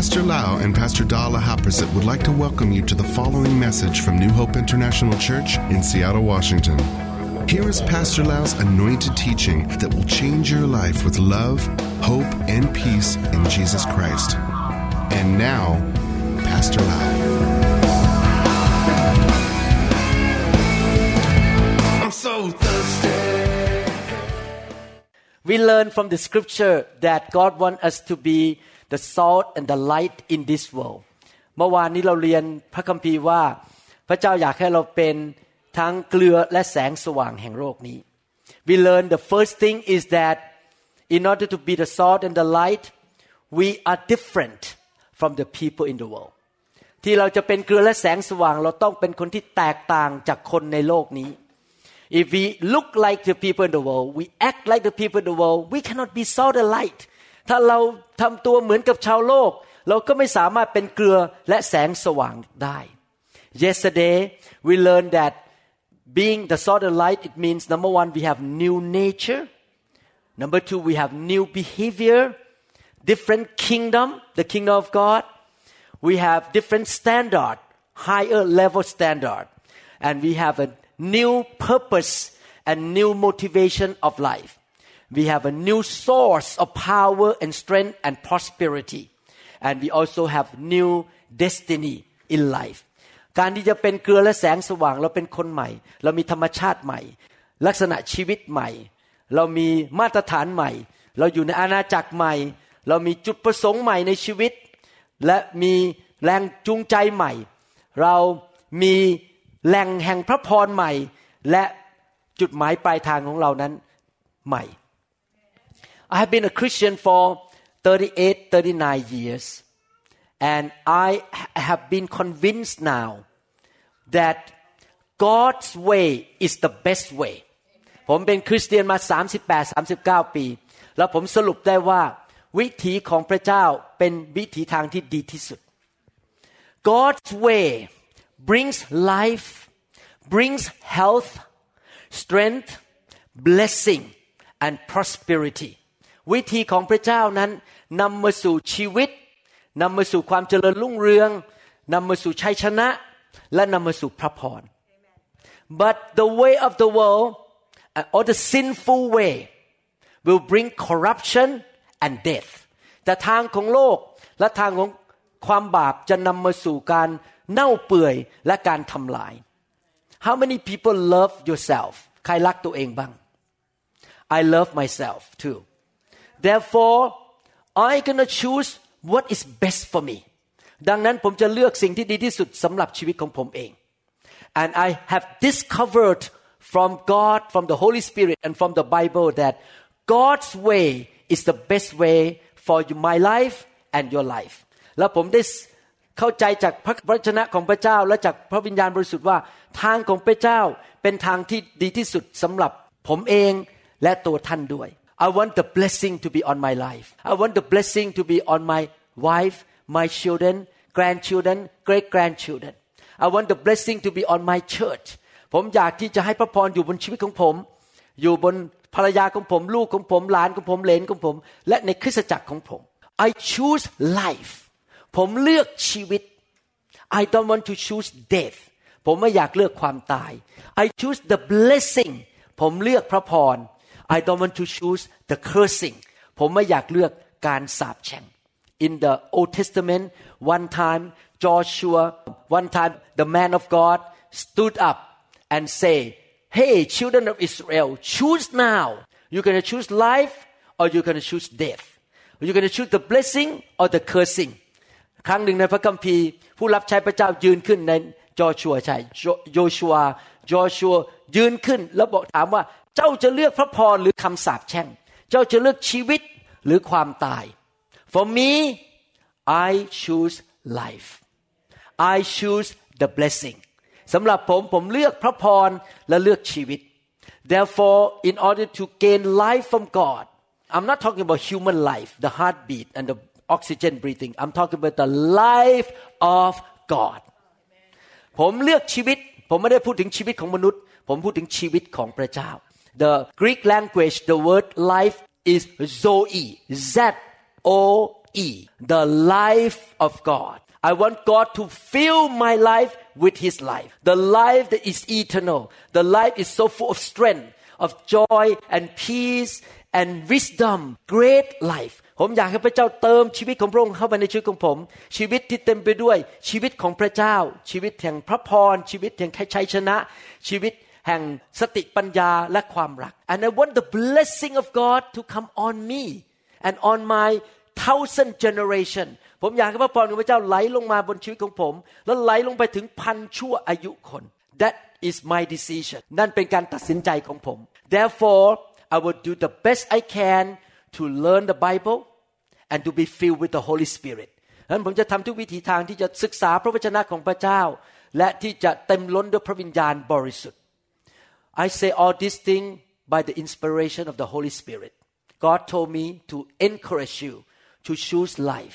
Pastor Lau and Pastor Dala Haprasit would like to welcome you to the following message from New Hope International Church in Seattle, Washington. Here is Pastor Lau's anointed teaching that will change your life with love, hope, and peace in Jesus Christ. And now, Pastor Lau. I'm so thirsty. We learn from the scripture that God wants us to be the salt and the light in this world เมื่อวานนี้เราเรียนพระคัมภีร์ว่าพระเจ้าอยากให้เราเป็นทั้งเกลือและแสงสว่างแห่งโลกนี้ We learn the first thing is that in order to be the salt and the light we are different from the people in the world ที่เราจะเป็นเกลือและแสงสว่างเราต้องเป็นคนที่แตกต่างจากคนในโลกนี้ If we look like the people in the world we act like the people in the world we cannot be salt and lightถ้าเราทำตัวเหมือนกับชาวโลกเราก็ไม่สามารถเป็นเกลือและแสงสว่างได้ Yesterday we learned that being the salt and light it means number one we have new nature number two we have new behavior different kingdom the kingdom of God we have different standard higher level standard and we have a new purpose and new motivation of life we have a new source of power and strength and prosperity and we also have new destiny in life การที่จะเป็นเกลือและแสงสว่างเราเป็นคนใหม่เรามีธรรมชาติใหม่ลักษณะชีวิตใหม่เรามีมาตรฐานใหม่เราอยู่ในอาณาจักรใหม่เรามีจุดประสงค์ใหม่ในชีวิตและมีแรงจูงใจใหม่เรามีแหล่งแห่งพระพรใหม่และจุดหมายปลายทางของเรานั้นใหม่ I have been a Christian for 39 years and I have been convinced now that God's way is the best way ผมเป็นคริสเตียนมา38-39 ปีแล้วผมสรุปได้ว่าวิถีของพระเจ้าเป็นวิถีทางที่ดีที่สุด God's way brings life brings health strength blessing and prosperity วิธีของพระเจ้านั้นนำมาสู่ชีวิตนำมาสู่ความเจริญรุ่งเรืองนำมาสู่ชัยชนะและนำมาสู่พระพร But the way of the world or the sinful way will bring corruption and death แต่ทางของโลกและทางของความบาปจะนำมาสู่การเน่าเปื่อยและการทำลาย How many people love yourself ใครรักตัวเองบ้าง I love myself too Therefore I gonna choose what is best for me ดังนั้นผมจะเลือกสิ่งที่ดีที่สุดสำหรับชีวิตของผมเอง And I have discovered from God from the Holy Spirit and from the Bible that God's way is the best way for my life and your life แล้วผมได้เข้าใจจากพระวจนะของพระเจ้าและจากพระวิญญาณบริสุทธิ์ว่าทางของพระเจ้าเป็นทางที่ดีที่สุดสำหรับผมเองและตัวท่านด้วย I want the blessing to be on my life I want the blessing to be on my wife my children grandchildren great grandchildren I want the blessing to be on my church ผมอยากที่จะให้พระพรอยู่บนชีวิตของผมอยู่บนภรรยาของผมลูกของผมหลานของผมเหลนของผมและในคริสตจักรของผม I choose life ผมเลือกชีวิต I don't want to choose death ผมไม่อยากเลือกความตาย I choose the blessing ผมเลือกพระพร I don't want to choose the cursing ผมไม่อยากเลือกการสาปแช่ง In the Old Testament one time Joshua one time the man of God stood up and say Hey children of Israel choose now you're going to choose life or you're going to choose death you're going to choose the blessing or the cursing ครั้งหนึ่งในพระคัมภีร์ผู้รับใช้พระเจ้ายืนขึ้นในจอชัวใช่โยชัวยืนขึ้นแล้วบอกถามว่าเจ้าจะเลือกพระพรหรือคำสาปแช่งเจ้าจะเลือกชีวิตหรือความตาย For me I choose life I choose the blessing สำหรับผมเลือกพระพรและเลือกชีวิต Therefore in order to gain life from God I'm not talking about human life the heartbeat and the oxygen breathing I'm talking about the life of God ผมเลือกชีวิตผมไม่ได้พูดถึงชีวิตของมนุษย์ผมพูดถึงชีวิตของพระเจ้า The Greek language the word life is zoe Z O the life of God. I want God to fill my life with His life. The life that is eternal. The life is so full of strength, of joy and peace and wisdom. Great life.ผมอยากให้พระเจ้าเติมชีวิตของพระองค์เข้ามาในชีวิตของผมชีวิตที่เต็มไปด้วยชีวิตของพระเจ้าชีวิตแห่งพระพรชีวิตแห่งชัยชนะชีวิตแห่งสติปัญญาและความรัก and I want the blessing of God to come on me and on my 1,000 generation ผมอยากให้พระพรของพระเจ้าไหลลงมาบนชีวิตของผมแล้วไหลลงไปถึงพันชั่วอายุคน that is my decision นั่นเป็นการตัดสินใจของผม therefore I will do the best I can to learn the Bible and to be filled with the Holy Spirit งั้นผมจะทำทุกวิถีทางที่จะศึกษาพระวจนะของพระเจ้าและที่จะเต็มล้นด้วยพระวิญญาณบริสุทธิ์ I say all these things by the inspiration of the Holy Spirit. God told me to encourage you to choose life,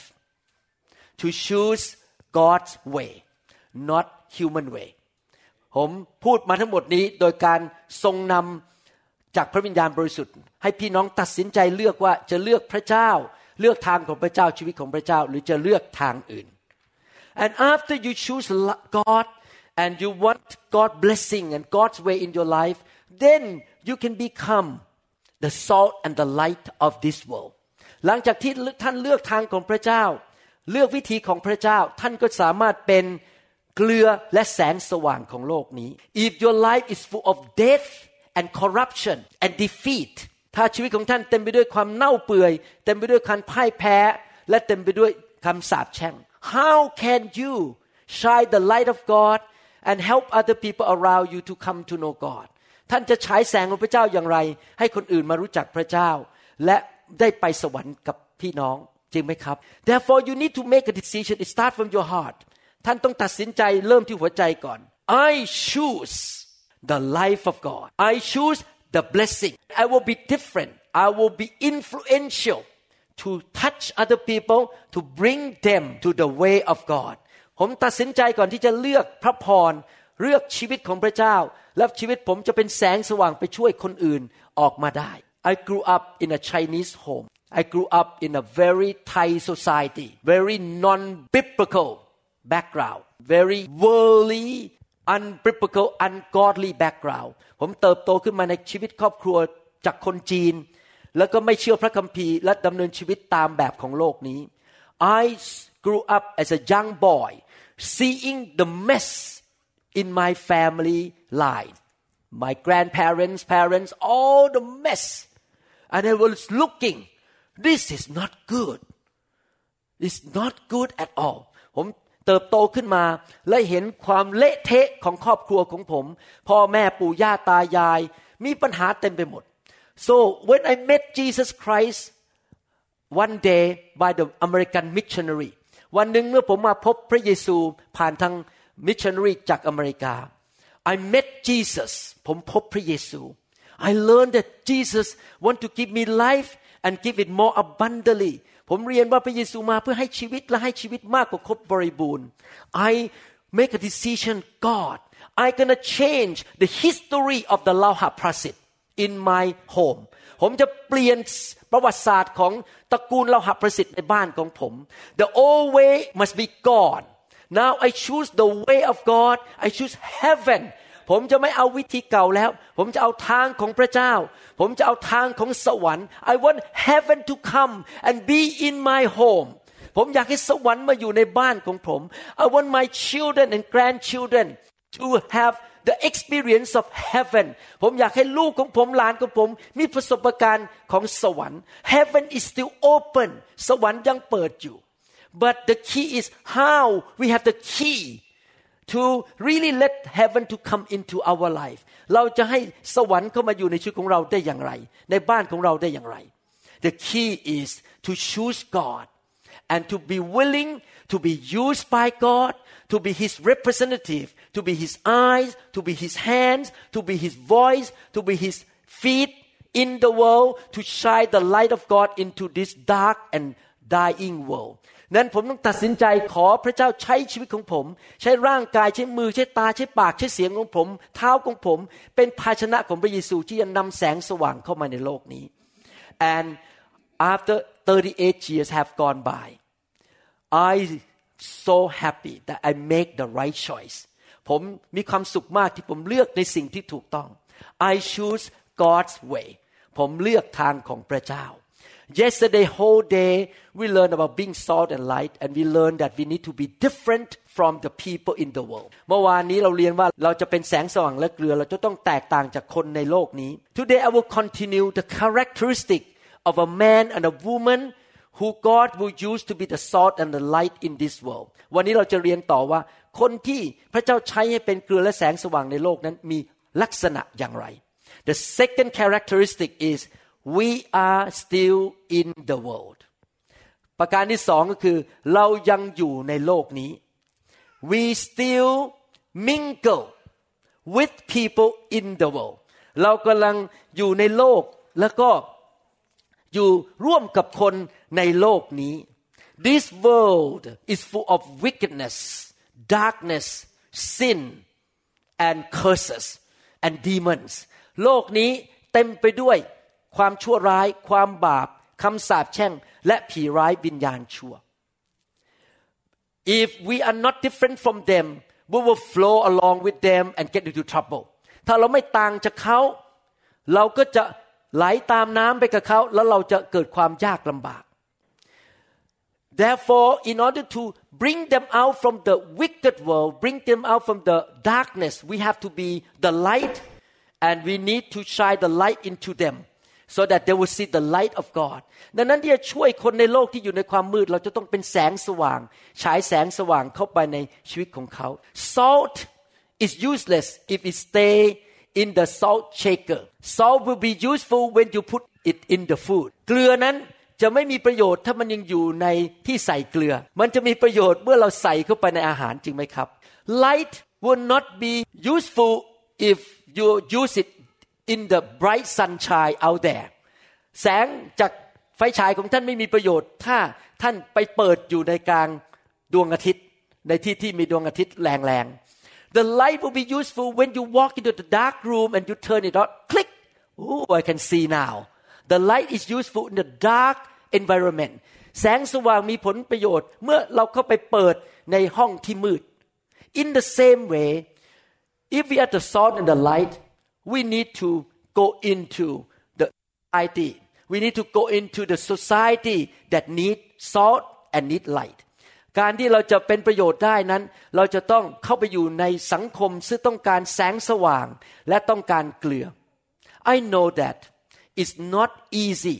to choose God's way, not human way. ผมพูดมาทั้งหมดนี้โดยการทรงนำจากพระวิญญาณบริสุทธิ์ให้พี่น้องตัดสินใจเลือกว่าจะเลือกพระเจ้าเลือกทางของพระเจ้าชีวิตของพระเจ้าหรือจะเลือกทางอื่น And after you choose God and you want God's blessing and God's way in your life, then you can become the salt and the light of this world. หลังจากที่ท่านเลือกทางของพระเจ้าเลือกวิธีของพระเจ้าท่านก็สามารถเป็นเกลือและแสงสว่างของโลกนี้ If your life is full of death and corruption and defeat ถ้าชีวิตของท่านเต็มไปด้วยความเน่าเปื่อยเต็มไปด้วยการพ่ายแพ้และเต็มไปด้วยคำสาปแช่ง How can you shine the light of God and help other people around you to come to know God ท่านจะฉายแสงของพระเจ้าอย่างไรให้คนอื่นมารู้จักพระเจ้าและได้ไปสวรรค์กับพี่น้องจริงไหมครับ Therefore you need to make a decision. It start from your heart ท่านต้องตัดสินใจเริ่มที่หัวใจก่อน I choose the life of God. I choose the blessing. I will be different. I will be influential to touch other people to bring them to the way of God. ผมตัดสินใจก่อนที่จะเลือกพระพรเลือกชีวิตของพระเจ้าและชีวิตผมจะเป็นแสงสว่างไปช่วยคนอื่นออกมาได้ I grew up in a Chinese home. I grew up in a very Thai society, very non-biblical background, very worldly, unbiblical, ungodly background. ผมเติบโตขึ้นมาในชีวิตครอบครัวจากคนจีนแล้วก็ไม่เชื่อพระคัมภีร์และดำเนินชีวิตตามแบบของโลกนี้ I grew up as a young boy, seeing the mess in my family line. My grandparents, parents, all the mess. And I was looking, this is not good. It's not good at all. ผมเติบโตขึ้นมาและเห็นความเละเทะของครอบครัวของผมพ่อแม่ปู่ย่าตายายมีปัญหาเต็มไปหมด So when I met Jesus Christ one day by the American missionary วันหนึ่งเมื่อผมมาพบพระเยซูผ่านทาง missionary จากอเมริกา I met Jesus ผมพบพระเยซู I learned that Jesus want to give me life and give it more abundantly ผมเรียนว่าพระเยซูมาเพื่อให้ชีวิตและให้ชีวิตมากกว่าครบบริบูรณ์ I make a decision God I gonna change the history of the Lauha Prasit in my home ผมจะเปลี่ยนประวัติศาสตร์ของตระกูลเลาหะประสิทธิ์ในบ้านของผม The old way must be gone Now I choose the way of God I choose heaven ผมจะไม่เอาวิธีเก่าแล้วผมจะเอาทางของพระเจ้าผมจะเอาทางของสวรรค์ I want heaven to come and be in my home ผมอยากให้สวรรค์มาอยู่ในบ้านของผม I want my children and grandchildren to have the experience of heaven ผมอยากให้ลูกของผมหลานของผมมีประสบการณ์ของสวรรค์ Heaven is still open สวรรค์ยังเปิดอยู่ But the key is how we have the key to really let heaven to come into our life เราจะให้สวรรค์เข้ามาอยู่ในชีวิตของเราได้อย่างไรในบ้านของเราได้อย่างไร The key is to choose God and to be willing to be used by God to be His representative to be His eyes to be His hands to be His voice to be His feet in the world to shine the light of God into this dark and dying worldนั้นผมต้องตัดสินใจขอพระเจ้าใช้ชีวิตของผมใช้ร่างกายใช้มือใช้ตาใช้ปากใช้เสียงของผมเท้าของผมเป็นภาชนะของพระเยซูที่จะนำแสงสว่างเข้ามาในโลกนี้ and after 38 years have gone by I so happy that I make the right choice ผมมีความสุขมากที่ผมเลือกในสิ่งที่ถูกต้อง I choose God's way ผมเลือกทางของพระเจ้า Yesterday whole day we learned about being salt and light and we learned that we need to be different from the people in the world เมื่อวานนี้เราเรียนว่าเราจะเป็นแสงสว่างและเกลือเราจะต้องแตกต่างจากคนในโลกนี้ Today I will continue the characteristic of a man and a woman who God will use to be the salt and the light in this world วันนี้เราจะเรียนต่อว่าคนที่พระเจ้าใช้ให้เป็นเกลือและแสงสว่างในโลกนั้นมีลักษณะอย่างไร The second characteristic is we are still in the world ประการที่สองก็คือเรายังอยู่ในโลกนี้ we still mingle with people in the world เรากำลังอยู่ในโลกแล้วก็อยู่ร่วมกับคนในโลกนี้ This world is full of wickedness, darkness, sin, and curses and demons โลกนี้เต็มไปด้วยความชั่วร้ายความบาปคำสาปแช่งและผีร้ายวิญญาณชั่ว If we are not different from them, we will flow along with them and get into trouble ถ้าเราไม่ต่างจากเขาเราก็จะไหลตามน้ำไปกับเขาแล้วเราจะเกิดความยากลำบาก Therefore, in order to bring them out from the wicked world, bring them out from the darkness, we have to be the light and we need to shine the light into them so that they will see the light of God. ดังนั้นที่จะช่วยคนในโลกที่อยู่ในความมืดเราจะต้องเป็นแสงสว่างฉายแสงสว่างเข้าไปในชีวิตของเขา Salt is useless if it stay in the salt shaker. Salt will be useful when you put it in the food. เกลือนั้นจะไม่มีประโยชน์ถ้ามันยังอยู่ในที่ใส่เกลือมันจะมีประโยชน์เมื่อเราใส่เข้าไปในอาหารจริงไหมครับ Light will not be useful if you use it in the bright sunshine out there. แสงจากไฟฉายของท่านไม่มีประโยชน์ถ้าท่านไปเปิดอยู่ในกลางดวงอาทิตย์ในที่ที่มีดวงอาทิตย์แรงๆThe light will be useful when you walk into the dark room and you turn it on. Click. Oh, I can see now. The light is useful in the dark environment. แสงสว่างมีผลประโยชน์เมื่อเราเข้าไปเปิดในห้องที่มืด In the same way, if we are the salt and the light, we need to go into the society. We need to go into the society that need salt and need light.การที่เราจะเป็นประโยชน์ได้นั้นเราจะต้องเข้าไปอยู่ในสังคมซึ่งต้องการแสงสว่างและต้องการเกลือ I know that it's not easy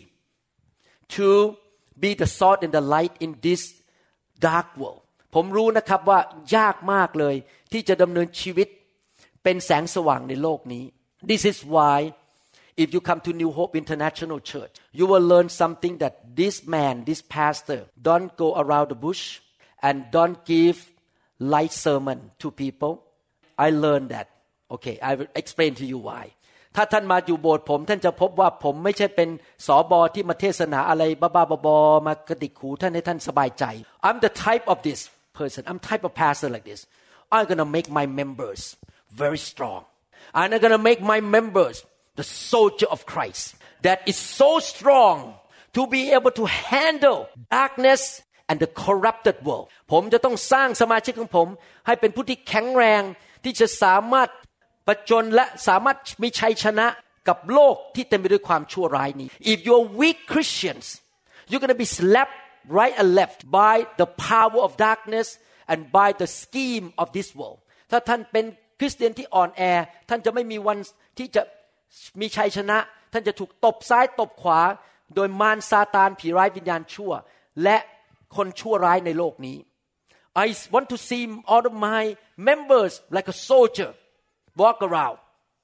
to be the salt and the light in this dark world ผมรู้นะครับว่ายากมากเลยที่จะดำเนินชีวิตเป็นแสงสว่างในโลกนี้ This is why if you come to New Hope International Church you will learn something that this man this pastor don't go around the bush and don't give light sermon to people. I learned that. Okay, I will explain to you why. ถ้าท่านมาอยู่โบสถ์ผมท่านจะพบว่าผมไม่ใช่เป็นสบที่มาเทศนาอะไรบ้าๆบอๆมากระดิกหูท่านให้ท่านสบายใจ I'm the type of this person. I'm type of pastor like this. I'm going to make my members very strong. I'm going to make my members the soldier of Christ that is so strong to be able to handle darkness and the corrupted world ผมจะต้องสร้างสมาชิกของผมให้เป็นผู้ที่แข็งแรงที่จะสามารถผจญและสามารถมีชัยชนะกับโลกที่เต็มไปด้วยความชั่วร้ายนี้ If you're weak Christians you're going to be slapped right and left by the power of darkness and by the scheme of this world ถ้าท่านเป็นคริสเตียนที่อ่อนแอท่านจะไม่มีวันที่จะมีชัยชนะท่านจะถูกตบซ้ายตบขวาโดยมารซาตานผีร้ายวิญญาณชั่วและคนชั่วร้ายในโลกนี้ I want to see all of my members like a soldier walk around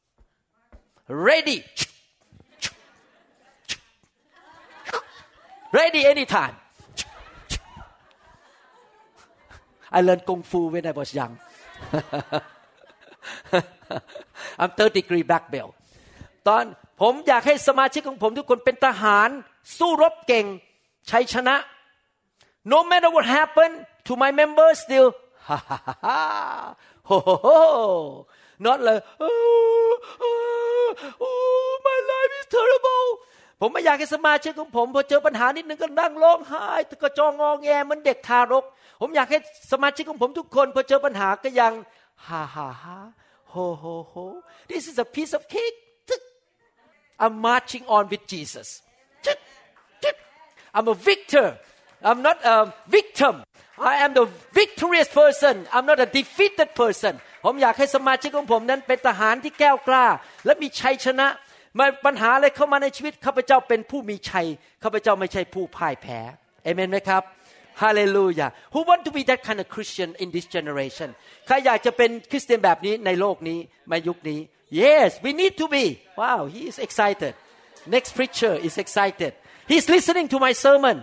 ready anytime I learned Kung Fu when I was young I'm third degree black belt ตอนผมอยากให้สมาชิกของผมทุกคนเป็นทหารสู้รบเก่งชัยชนะNo matter what happened to my members, still, ha ha ha ha, ho ho ho, not like, oh, my life is terrible. ผมไม่อยากให้สมาชิกของผมพอเจอปัญหานิดนึงก็นั่งร้องไห้ก็จองงแงเหมือนเด็กทารกผมอยากให้สมาชิกของผมทุกคนพอเจอปัญหาก็ยังฮ่าฮ่าฮ่าโฮโฮโฮ This is a piece of cake I'm marching on with Jesus I'm a victor I'm not a victim I am the victorious person I'm not a defeated person ผมอยากให้สมาชิกของผมนั้นเป็นทหารที่แก้วกล้าและมีชัยชนะมาปัญหาอะไรเข้ามาในชีวิตข้าพเจ้าเป็นผู้มีชัยข้าพเจ้าไม่ใช่ผู้พ่ายแพ้เอเมนไหมครับฮาเลลูยา Who want to be that kind of Christian in this generation ใครอยากจะเป็นคริสเตียนแบบนี้ในโลกนี้ในยุคนี้ Yes we need to be Wow he is excited Next preacher is excited He's listening to my sermon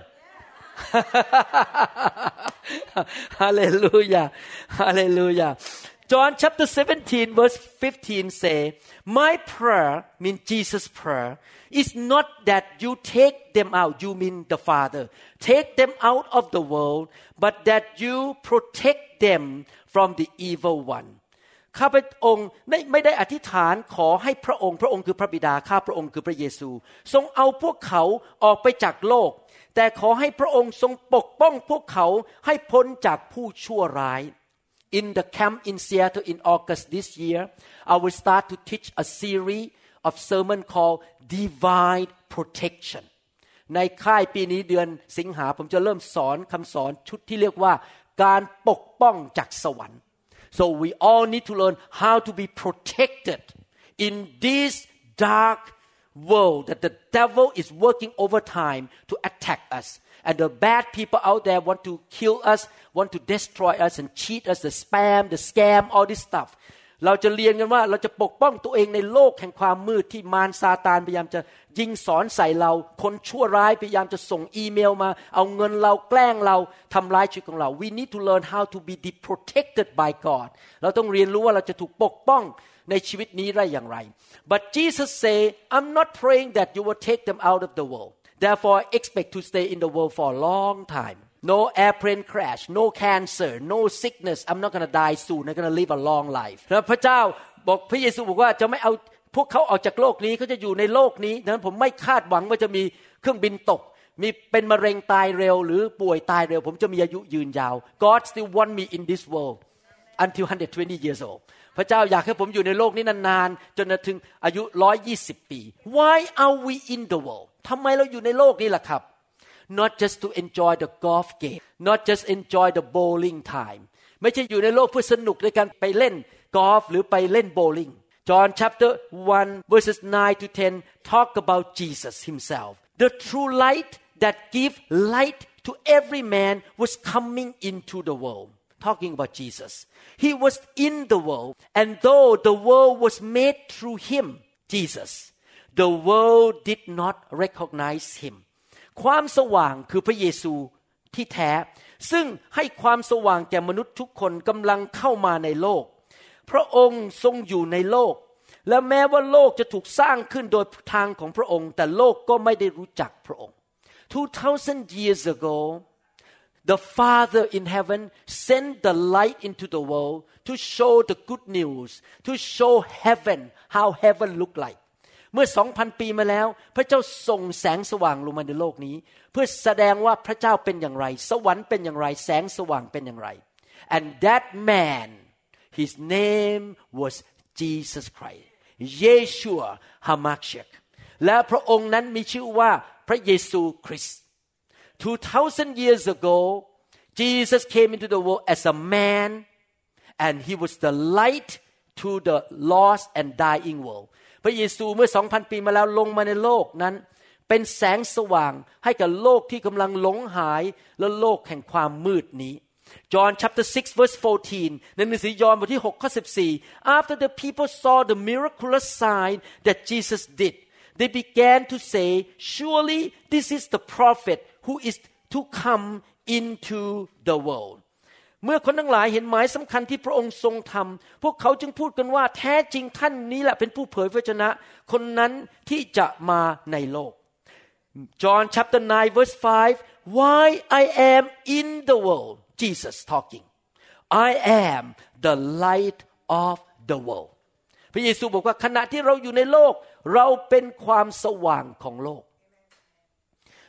Hallelujah Hallelujah John chapter 17 verse 15 say My prayer mean Jesus prayer is not that you take them out you mean the Father take them out of the world but that you protect them from the evil one ข้าพระองค์ไม่ได้อธิษฐานขอให้พระองค์คือพระบิดาข้าพระองค์คือพระเยซูทรงเอาพวกเขาออกไปจากโลกแต่ขอให้พระองค์ทรงปกป้องพวกเขาให้พ้นจากผู้ชั่วร้าย In the camp in Seattle in August this year I will start to teach a series of sermon called Divine Protection ในค่ายปีนี้เดือนสิงหาผมจะเริ่มสอนคำสอนชุดที่เรียกว่าการปกป้องจากสวรรค์So we all need to learn how to be protected in this dark world that the devil is working overtime to attack us. And the bad people out there want to kill us, want to destroy us and cheat us, the spam, the scam, all this stuff. เราจะเรียนกันว่าเราจะปกป้องตัวเองในโลกแห่งความมืดที่มารซาตานพยายามจะยิงสอนใส่เราคนชั่วร้ายพยายามจะส่งอีเมลมาเอาเงินเราแกล้งเราทำร้ายชีวิตของเรา We need to learn how to be protected by God เราต้องเรียนรู้ว่าเราจะถูกปกป้องในชีวิตนี้ได้อย่างไร But Jesus say I'm not praying that you will take them out of the world Therefore I expect to stay in the world for a long time.No airplane crash, no cancer, no sickness. I'm not going to die soon. I'm going to live a long life. แล้วพระเจ้าบอกพระเยซูบอกว่าจะไม่เอาพวกเขาออกจากโลกนี้เขาจะอยู่ในโลกนี้ดังนั้นผมไม่คาดหวังว่าจะมีเครื่องบินตกมีเป็นมะเร็งตายเร็วหรือป่วยตายเร็วผมจะมีอายุยืนยาว God still want me in this world until 120 years old พระเจ้าอยากให้ผมอยู่ในโลกนี้นานๆจนถึงอายุ120 ปี Why are we in the world ทำไมเราอยู่ในโลกนี้ล่ะครับNot just to enjoy the golf game, not just enjoy the bowling time. ไม่ใช่อยู่ในโลกเพื่อสนุกในการไปเล่นกอล์ฟหรือไปเล่นโบว์ลิ่ง John chapter 1 verses 9 to 10 talk about Jesus himself. The true light that give light to every man was coming into the world. Talking about Jesus. He was in the world, and though the world was made through him, Jesus, the world did not recognize him.ความสว่างคือพระเยซูที่แท้ซึ่งให้ความสว่างแก่มนุษย์ทุกคนกำลังเข้ามาในโลกพระองค์ทรงอยู่ในโลกและแม้ว่าโลกจะถูกสร้างขึ้นโดยทางของพระองค์แต่โลกก็ไม่ได้รู้จักพระองค์ 2,000 years ago the Father in heaven sent the light into the world to show the good news to show heaven how heaven look likeเมื่อ 2,000 ปีมาแล้วพระเจ้าส่งแสงสว่างลงมาในโลกนี้เพื่อแสดงว่าพระเจ้าเป็นอย่างไรสวรรค์เป็นอย่างไรแสงสว่างเป็นอย่างไร and that man his name was Jesus Christ Yeshua HaMashiach และพระองค์นั้นมีชื่อว่าพระเยซูคริสต์ 2,000 years ago Jesus came into the world as a man and he was the light to the lost and dying worldพระเยซูเมื่อ 2,000 ปีมาแล้วลงมาในโลกนั้นเป็นแสงสว่างให้กับโลกที่กำลังหลงหายและโลกแห่งความมืดนี้ John chapter 6 verse 14 ในหนังสือยอห์นบทที่6ข้อ14 After the people saw the miraculous sign that Jesus did they began to say surely this is the prophet who is to come into the worldเมื่อคนทั้งหลายเห็นหมายสำคัญที่พระองค์ทรงทำพวกเขาจึงพูดกันว่าแท้จริงท่านนี้แหละเป็นผู้เผยพระวจนะคนนั้นที่จะมาในโลก John chapter 9 verse 5 Why I am in the world Jesus talking I am the light of the world พระเยซูบอกว่าขณะที่เราอยู่ในโลกเราเป็นความสว่างของโลก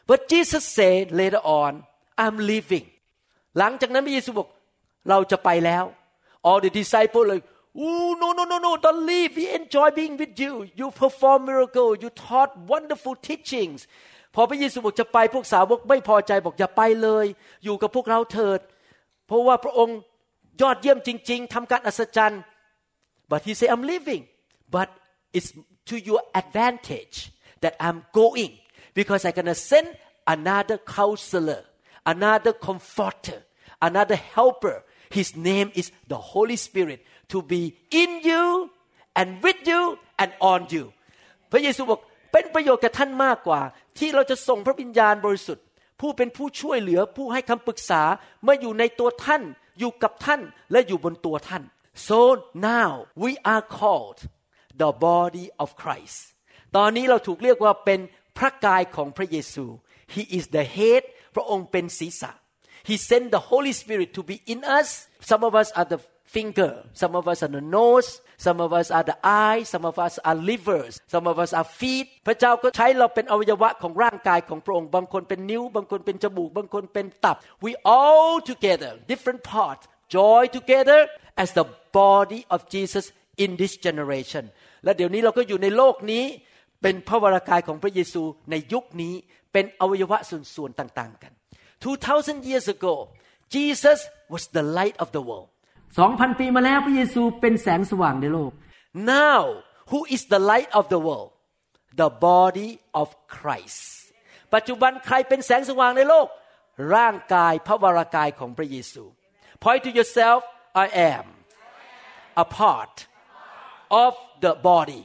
but Jesus said later on I'm leaving หลังจากนั้นพระเยซูบอกเราจะไปแล้ว all the disciples like oh no don't leave we enjoy being with you you perform miracle you taught wonderful teachings พอพระเยซูบอกจะไปพวกสาวกไม่พอใจบอกอย่าไปเลยอยู่กับพวกเราเถิดเพราะว่าพระองค์ยอดเยี่ยมจริงๆทำการอัศจรรย์ but he said I'm leaving but it's to your advantage that I'm going because I'm gonna send another counselor another comforter another helper his name is the Holy Spirit to be in you and with you and on you พระเยซูบอกเป็นประโยชน์กับท่านมากกว่าที่เราจะส่งพระวิญญาณบริสุทธิ์ผู้เป็นผู้ช่วยเหลือผู้ให้คำปรึกษามาอยู่ในตัวท่านอยู่กับท่านและอยู่บนตัวท่าน so now we are called the body of Christ ตอนนี้เราถูกเรียกว่าเป็นพระกายของพระเยซู He is the head พระองค์เป็นศีรษะ He sent the Holy Spirit to be in us some of us are the finger some of us are the nose some of us are the eye some of us are livers some of us are feet พระเจ้าก็ใช้เราเป็นอวัยวะของร่างกายของพระองค์บางคนเป็นนิ้วบางคนเป็นจมูกบางคนเป็นตับ we all together different parts join together as the body of Jesus in this generation และเดี๋ยวนี้เราก็อยู่ในโลกนี้เป็นพระวรากายของพระเยซูในยุคนี้เป็นอวัยวะส่วนๆต่างๆกัน 2,000 years ago Jesus was the light of the world 2,000 ปีมาแล้วพระเยซูเป็นแสงสว่างในโลก Now who is the light of the world the body of Christ ปัจจุบันใครเป็นแสงสว่างในโลกร่างกายพระวรากายของพระเยซู Point to yourself I am a part of the body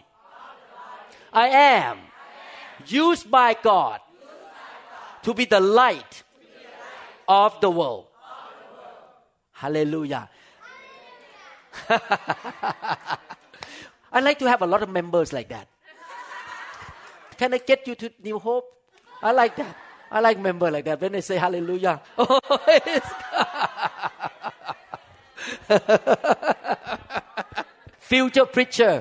I am used by God to be the light of the world Hallelujah I like to have a lot of members like that Can I get you to New Hope I like that I like member like that when they say hallelujah Future preacher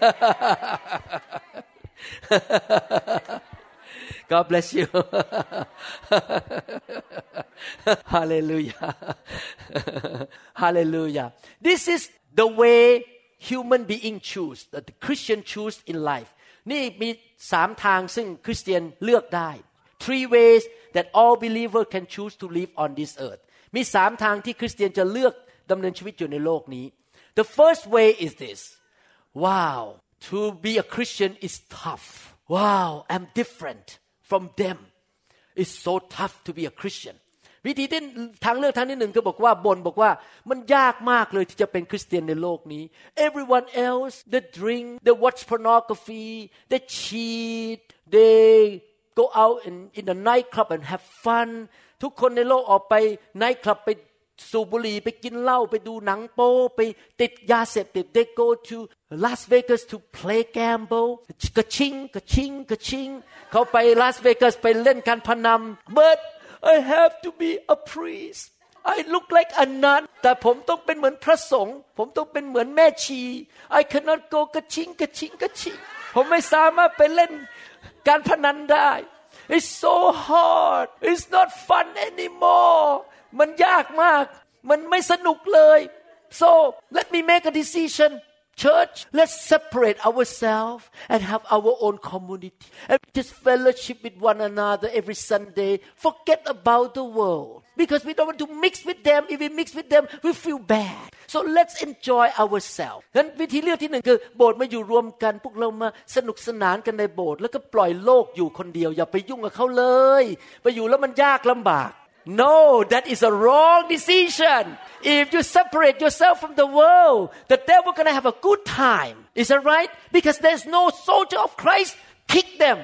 God bless you Hallelujah Hallelujah This is the way human being choose that the Christian choose in life นี่มี3ทางซึ่งคริสเตียนเลือกได้ Three ways that all believer can choose to live on this earth มี3ทางที่คริสเตียนจะเลือกดำเนินชีวิตอยู่ในโลกนี้ The first way is this Wow to be a Christian is tough Wow I'm different from them It's so tough to be a Christian วิธีที่ทางเลือกทางที่หนึ่งก็บอกว่าบอกว่ามันยากมากเลยที่จะเป็นคริสเตียนในโลกนี้ Everyone else they drink they watch pornography they cheat they go out in the nightclub and have fun ทุกคนในโลกออกไปไนท์คลับไปสูบบุหรี่ไปกินเหล้าไปดูหนังโป๊ไปติดยาเสพติด they go to Las Vegas to play gamble กระชิงเขาไป Las Vegas ไปเล่นการพนัน but I have to be a priest I look like a nun แต่ผมต้องเป็นเหมือนพระสงฆ์ผมต้องเป็นเหมือนแม่ชี I cannot go กระชิงผมไม่สามารถไปเล่นการพนันได้ It's so hard It's not fun anymore มันยากมากมันไม่สนุกเลย So let me make a decision Church let's separate ourselves and have our own community and just fellowship with one another every Sunday forget about the world because we don't want to mix with them if we mix with them we feel bad so let's enjoy ourselves งั้นวิธีเลือกที่หนึ่งคือโบสถ์มาอยู่รวมกันพวกเรามาสนุกสนานกันในโบสถ์แล้วก็ปล่อยโลกอยู่คนเดียวอย่าไปยุ่งกับเขาเลยไปอยู่แล้วมันยากลำบากNo, that is a wrong decision. If you separate yourself from the world, the devil gonna have a good time. Is that right? Because there's no soldier of Christ. Kick them.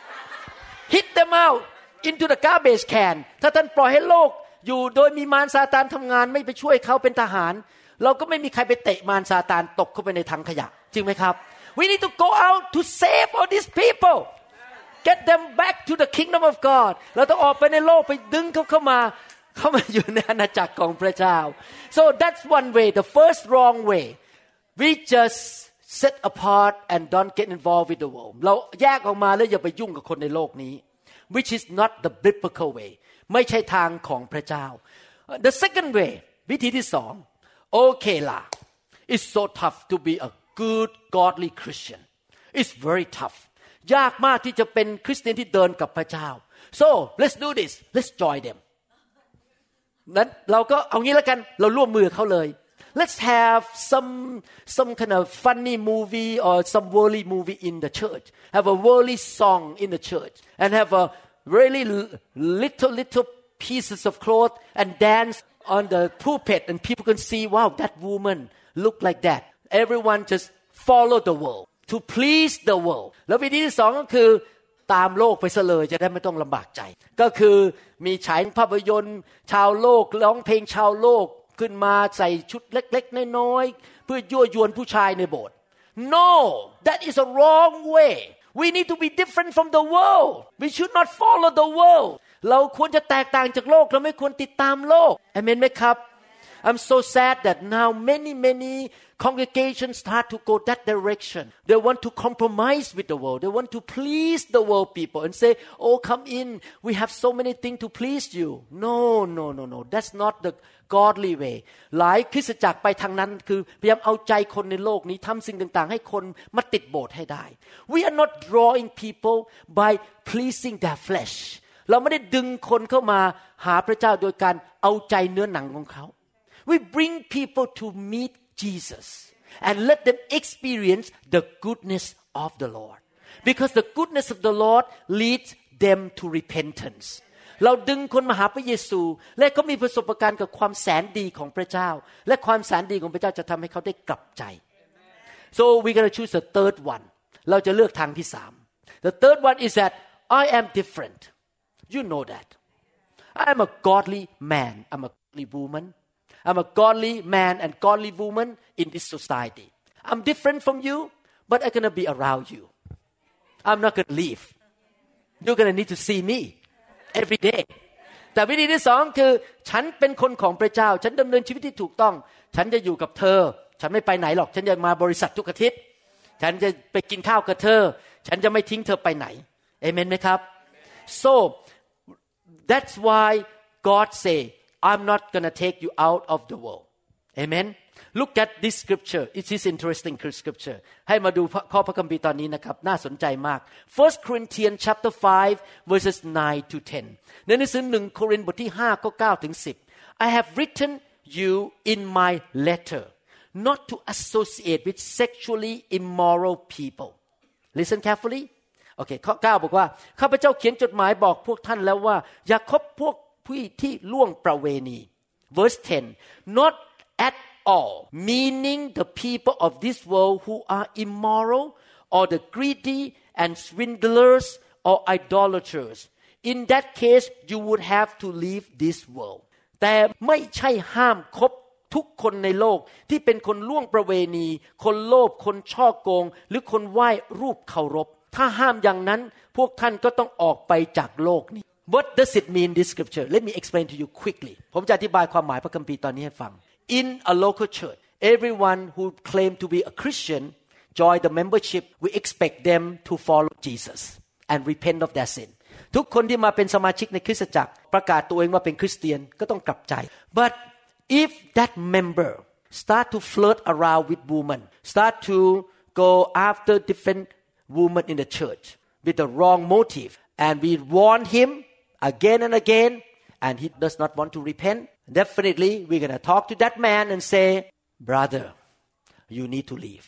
Hit them out into the garbage can. ถ้าท่านปล่อยให้โลกอยู่โดยมีมารซาตานทำงานไม่ไปช่วยเขาเป็นทหารเราก็ไม่มีใครไปเตะมารซาตานตกเข้าไปในถังขยะจริงไหมครับ We need to go out to save all these people.Get them back to the kingdom of God เราต้องออกไปในโลกไปดึงเขาเข้ามาอยู่ในอาณาจักรของพระเจ้า so that's one way the first wrong way we just set apart and don't get involved with the world เราแยกออกมาแล้วอย่าไปยุ่งกับคนในโลกนี้ which is not the biblical way ไม่ใช่ทางของพระเจ้า The second way วิธีที่สองโอเคล่ะ It's so tough to be a good godly Christian It's very tough ยากมากที่จะเป็นคริสเตียนที่เดินกับพระเจ้า So let's do this let's join them นั้นเราก็เอางี้แล้วกันเราร่วมมือเขาเลย Let's have some kind of funny movie or some worldly movie in the church have a worldly song in the church and have a really little pieces of cloth and dance on the pulpit and people can see wow that woman look like that everyone just follow the world to please the world แล้ววิธีที่สองก็คือตามโลกไปซะเลยจะได้ไม่ต้องลำบากใจก็คือมีฉายภาพยนตร์ชาวโลกร้องเพลงชาวโลกขึ้นมาใส่ชุดเล็กๆน้อยๆเพื่อยั่วยวนผู้ชายในโบสถ์ No that is a wrong way we need to be different from the world we should not follow the world เราควรจะแตกต่างจากโลกเราไม่ควรติดตามโลกอาเมนไหมครับ I'm so sad that now many congregations start to go that direction. They want to compromise with the world. They want to please the world people and say, "Oh, come in. We have so many things to please you." No. That's not the godly way. หลายคริสตจักรไปทางนั้นคือพยายามเอาใจคนในโลกนี้ทำสิ่งต่างๆให้คนมาติดโบสถ์ให้ได้ We are not drawing people by pleasing their flesh. เราไม่ได้ดึงคนเข้ามาหาพระเจ้าโดยการเอาใจเนื้อหนังของเขาWe bring people to meet Jesus and let them experience the goodness of the Lord. Because the goodness of the Lord leads them to repentance. เราดึงคนมาหาพระเยซูและเขามีประสบการณ์กับความแสนดีของพระเจ้าและความแสนดีของพระเจ้าจะทำให้เขาได้กลับใจ So we're going to choose the third one. เราจะเลือกทางที่สาม The third one is that I am different. You know that. I am a godly man. I'm a godly woman.I'm a godly man and godly woman in this society. I'm different from you, but I'm going to be around you. I'm not going to leave. You're going to need to see me every day. แต่วิธีที่สองคือฉันเป็นคนของพระเจ้าฉันดำเนินชีวิตที่ถูกต้องฉันจะอยู่กับเธอฉันไม่ไปไหนหรอกฉันจะมาบริษัททุกอาทิตย์ฉันจะไปกินข้าวกับเธอฉันจะไม่ทิ้งเธอไปไหนเอเมนไหมครับ So that's why God say I'm not going to take you out of the world. Amen. Look at this scripture. It is interesting scripture. ให้มาดูข้อพระคัมภีร์ตอนนี้นะครับน่าสนใจมาก 1 Corinthians chapter 5 verses 9 to 10 ในหนังสือ1โครินธ์บทที่5ข้อ9ถึง10 I have written you in my letter not to associate with sexually immoral people. Listen carefully. Okay ข้อ9บอกว่าข้าพเจ้าเขียนจดหมายบอกพวกท่านแล้วว่าอย่าคบพวกผู้ที่ล่วงประเวณี Verse 10 Not at all meaning the people of this world who are immoral or the greedy and swindlers or idolaters in that case you would have to leave this world แต่ไม่ใช่ห้ามคบทุกคนในโลกที่เป็นคนล่วงประเวณีคนโลภคนช่อโกงหรือคนไหว้รูปเคารพถ้าห้ามอย่างนั้นพวกท่านก็ต้องออกไปจากโลกนี้What does it mean this scripture? Let me explain to you quickly. ผมจะอธิบายความหมายพระคัมภีร์ตอนนี้ให้ฟัง In a local church, everyone who claim to be a Christian join the membership. We expect them to follow Jesus and repent of their sin. ทุกคนที่มาเป็นสมาชิกในคริสตจักรประกาศตัวเองว่าเป็นคริสเตียนก็ต้องกลับใจ But if that member start to flirt around with women, start to go after different women in the church with the wrong motive, and we warn him.Again and again, and he does not want to repent. Definitely, we're going to talk to that man and say, "Brother, you need to leave.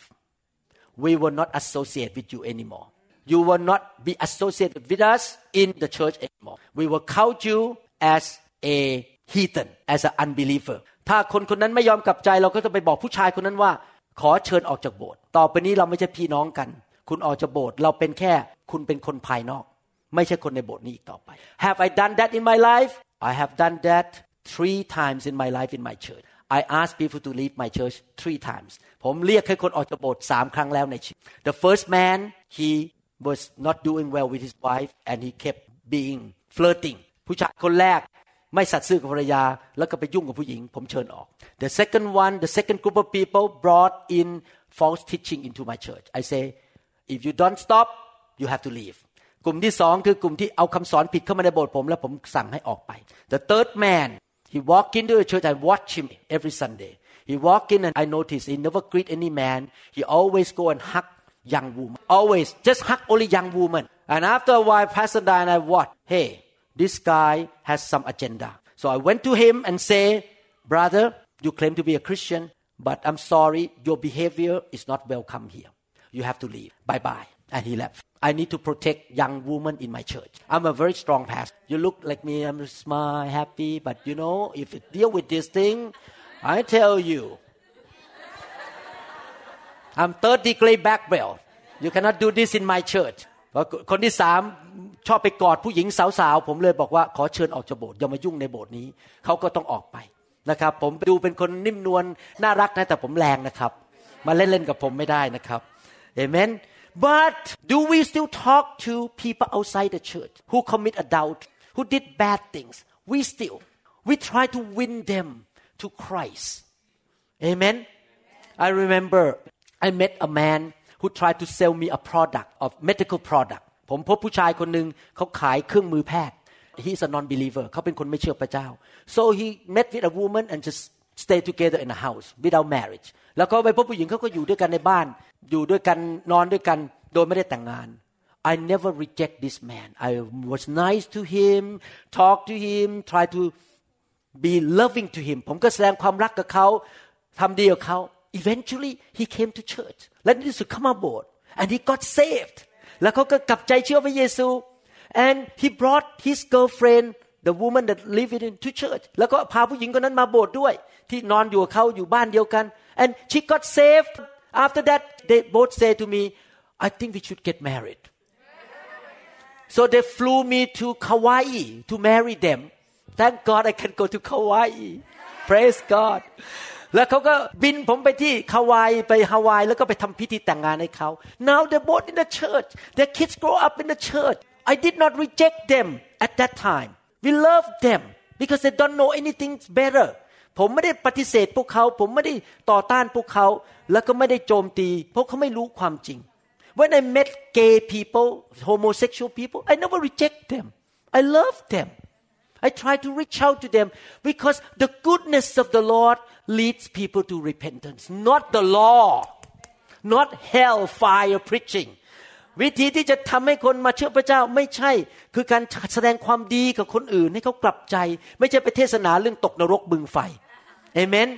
We will not associate with you anymore. You will not be associated with us in the church anymore. We will count you as a heathen, as an unbeliever." ถ้าคนคนนั้นไม่ยอมกลับใจเราก็จะไปบอกผู้ชายคนนั้นว่าขอเชิญออกจากโบสถ์ต่อไปนี้เราไม่ใช่พี่น้องกันคุณออกจากโบสถ์เราเป็นแค่คุณเป็นคนภายนอกไม่ใช่คนในโบสถ์นี้อีกต่อไป Have I done that in my life? I have done that 3 times in my life in my church. I asked people to leave my church 3 times. ผมเรียกให้คนออกจากโบสถ์3 ครั้งแล้วในชีวิต The first man he was not doing well with his wife and he kept being flirting. ผู้ชายคนแรกไม่สัตย์ซื่อกับภรรยาแล้วก็ไปยุ่งกับผู้หญิงผมเชิญออก The second group of people brought in false teaching into my church. I say if you don't stop you have to leave. กลุ่มที่สองคือกลุ่มที่เอาคำสอนผิดเข้ามาในโบสถ์ผมแล้วผมสั่งให้ออกไป The third man he walked into the church I watch him every Sunday he walked in and I noticed he never greet any man he always go and hug young woman always just hug only young woman and after a while Pastor Dan and I what hey this guy has some agenda so I went to him and say brother you claim to be a Christian but I'm sorry your behavior is not welcome here you have to leave bye bye and he left I need to protect young women in my church I'm a very strong pastor you look like me I'm smile happy but you know if you deal with this thing I tell you I'm third degree black belt you cannot do this in my church คนที่สามชอบไปกอดผู้หญิงสาวๆผมเลยบอกว่าขอเชิญออกจากโบสถ์อย่ามายุ่งในโบสถ์นี้เขาก็ต้องออกไปนะครับผมดูเป็นคนนิ่มนวลน่ารักนะแต่ผมแรงนะครับมาเล่นๆกับผมไม่ได้นะครับ Amen But do we still talk to people outside the church who commit adultery who did bad things we try to win them to Christ Amen I remember I met a man who tried to sell me a product of medical product ผมพบผู้ชายคนนึงเขาขายเครื่องมือแพทย์ He's a non-believer เขาเป็นคนไม่เชื่อพระเจ้า So he met with a woman and just stay together in a house without marriage แล้วก็ไปพบผู้หญิงเขาก็อยู่ด้วยกันในบ้านอยู่ด้วยกันนอนด้วยกันโดยไม่ได้แต่งงาน I never reject this man I was nice to him talk to him try to be loving to him ผมก็แสดงความรักกับเขาทำดีกับเขา Eventually he came to church และในที่สุดเข้ามาโบสถ์ and he got saved แล้วเขาก็กลับใจเชื่อพระเยซู and he brought his girlfriend the woman that lived with him to church แล้วก็พาผู้หญิงคนนั้นมาโบสถ์ด้วยที่นอนอยู่กับเขาอยู่บ้านเดียวกัน and she got saved after that they both say to me I think we should get married so they flew me to Kauai to marry them thank God I can go to Kauai praise God แล้วเขาก็บินผมไปที่ฮาวายไปฮาวายแล้วก็ไปทำพิธีแต่งงานให้เขา Now they're both in the church their kids grow up in the church I did not reject them at that time we love them because they don't know anything better ผมไม่ได้ปฏิเสธพวกเขาผมไม่ได้ต่อต้านพวกเขาแล้วก็ไม่ได้โจมตีเพราะเขาไม่รู้ความจริง When I met gay people homosexual people I never reject them I love them I try to reach out to them because the goodness of the Lord leads people to repentance not the law not hellfire preaching วิธีที่จะทำให้คนมาเชื่อพระเจ้าไม่ใช่คือการแสดงความดีกับคนอื่นให้เขากลับใจไม่ใช่ไปเทศนาเรื่องตกนรกบึงไฟ Amen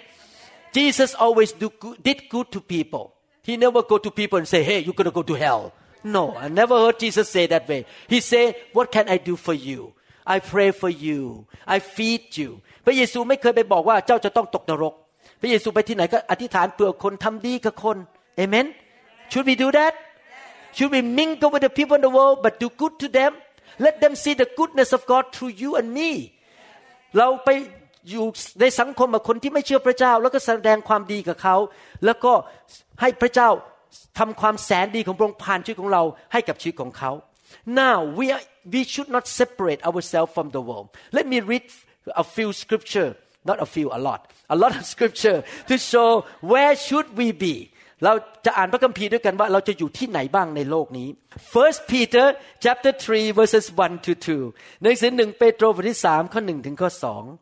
Jesus always did good to people He never go to people and say hey you're going to go to hell No I never heard Jesus say that way He say what can I do for you I pray for you I feed you พระเยซูไม่เคยไปบอกว่าเจ้าจะต้องตกนรกพระเยซูไปที่ไหนก็อธิษฐานเพื่อคนทำดีกับคน Amen Should we do that Should we mingle with the people in the world but do good to them Let them see the goodness of God through you and me เราไปอยู่ในสังคมกับคนที่ไม่เชื่อพระเจ้าแล้วก็แสดงความดีกับเขาแล้วก็ให้พระเจ้าทำความแสนดีของพระองค์ผ่านชีวิตของเราให้กับชีวิตของเขา Now we should not separate ourselves from the world Let me read a few scripture not a few a lot of scripture to show where should we be เราจะอ่านพระคัมภีร์ด้วยกันว่าเราจะอยู่ที่ไหนบ้างในโลกนี้ First Peter chapter 3 verses 1 to 2 หนังสือ1เปโตรบทที่3ข้อ1ถึงข้อ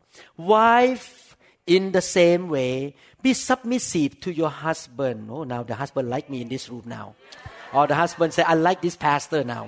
2 Wife in the same way be submissive to your husband Oh now the husband like me in this room now or the husband say I like this pastor now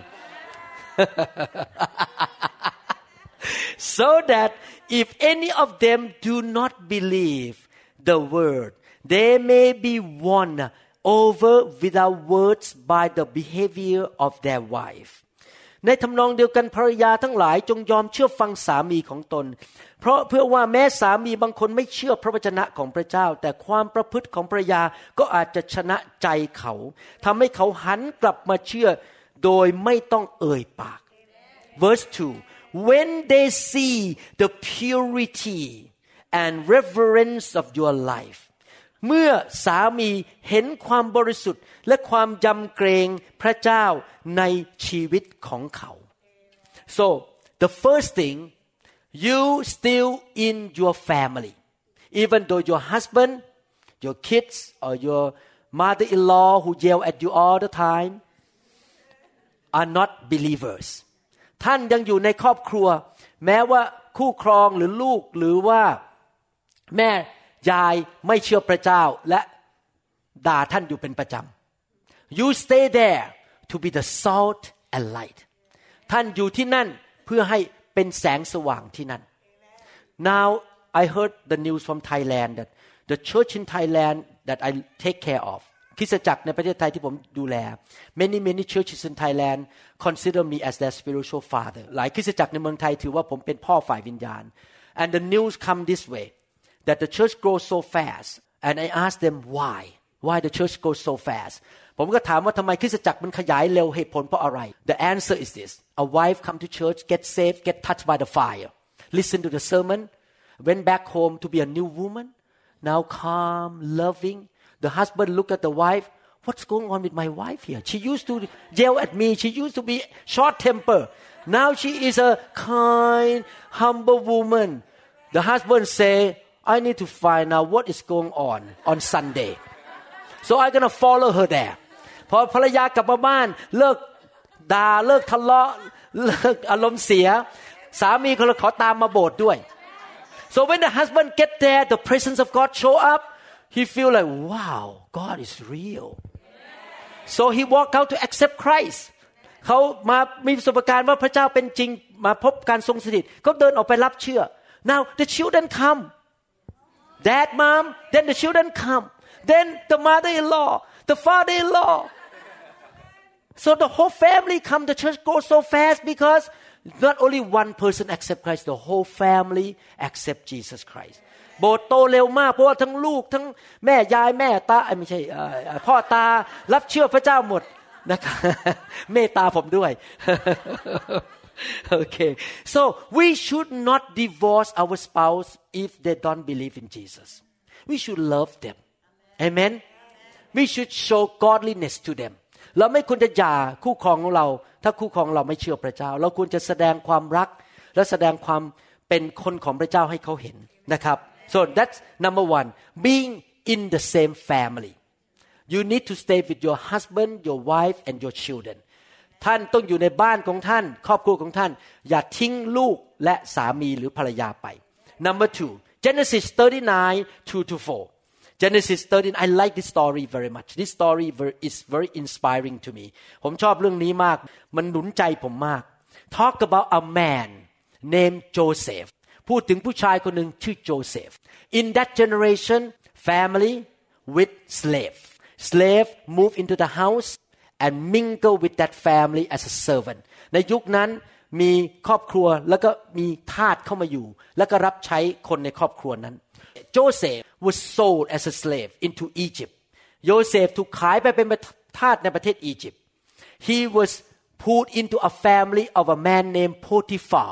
so that if any of them do not believe the word they may be won over without words by the behavior of their wife ในทำนองเดียวกันภรรยาทั้งหลายจงยอมเชื่อฟังสามีของตนเพราะเพื่อว่าแม้สามีบางคนไม่เชื่อพระวจนะของพระเจ้าแต่ความประพฤติของภรรยาก็อาจจะชนะใจเขาทำให้เขาหันกลับมาเชื่อโดยไม่ต้องเอ่ยปาก Verse 2 When they see the purity and reverence of your life เมื่อสามีเห็นความบริสุทธิ์และความยำเกรงพระเจ้าในชีวิตของเขา So the first thing you still in your family even though your husband your kids or your mother-in-law who yell at you all the time are not believers ท่านยังอยู่ในครอบครัวแม้ว่าคู่ครองหรือลูกหรือว่าแม่ยายไม่เชื่อพระเจ้าและด่าท่านอยู่เป็นประจำ You stay there to be the salt and light ท่านอยู่ที่นั่นเพื่อให้เป็นแสงสว่างที่นั่น Now I heard the news from Thailand that the church in Thailand that I take care of คริสตจักรในประเทศไทยที่ผมดูแล many churches in Thailand consider me as their spiritual father หลายคริสตจักรในเมืองไทยถือว่าผมเป็นพ่อฝ่ายวิญญาณ and the news come this way that the church grows so fast and I asked them why the church grows so fast ผมก็ถามว่าทำไมคริสตจักรมันขยายเร็วเหตุผลเพราะอะไร The answer is this a wife come to church get saved get touched by the fire listen to the sermon went back home to be a new woman now calm loving the husband look at the wife what's going on with my wife here she used to yell at me she used to be short temper now she is a kind humble woman the husband say I need to find out what is going on Sunday so I'm gonna follow her there พอภรรยากลับมาบ้านเลิกด่าเลิกทะเลาะเลิกอารมณ์เสียสามีเขาเลยขอตามมาโบสถ์ด้วย so when the husband get there the presence of God show up he feel like wow God is real so he walk out to accept Christ เขามามีประสบการณ์ว่าพระเจ้าเป็นจริงมาพบการทรงสถิตเขาเดินออกไปรับเชื่อ now the children come dad mom then the children come then the mother-in-law the father-in-law so the whole family come the church goes so fast because not only one person accept Christ the whole family accept Jesus Christ โบสถ์โตเร็วมากเพราะว่าทั้งลูกทั้งแม่ยายแม่ตาไม่ใช่พ่อตารับเชื่อพระเจ้าหมดนะครับเมตตาผมด้วย Okay so we should not divorce our spouse if they don't believe in Jesus we should love them amen we should show godliness to them เราไม่ควรจะหย่าคู่ครองของเราถ้าคู่ครองเราไม่เชื่อพระเจ้าเราควรจะแสดงความรักและแสดงความเป็นคนของพระเจ้าให้เขาเห็นนะครับ so that's number one being in the same family you need to stay with your husband your wife and your children ท่านต้องอยู่ในบ้านของท่านครอบครัวของท่านอย่าทิ้งลูกและสามีหรือภรรยาไป number two Genesis 39:2-4 Genesis 13 I like this story very much this story is very inspiring to me ผมชอบเรื่องนี้มากมันหนุนใจผมมาก talk about a man named Joseph พูดถึงผู้ชายคนหนึ่งชื่อโจเซฟ in that generation family with slave move into the house and mingle with that family as a servant ในยุคนั้นมีครอบครัวแล้วก็มีทาสเข้ามาอยู่แล้วก็รับใช้คนในครอบครัวนั้น Joseph was sold as a slave into Egypt โยเซฟถูกขายไปเป็นทาสในประเทศอียิปต์ he was put into a family of a man named Potiphar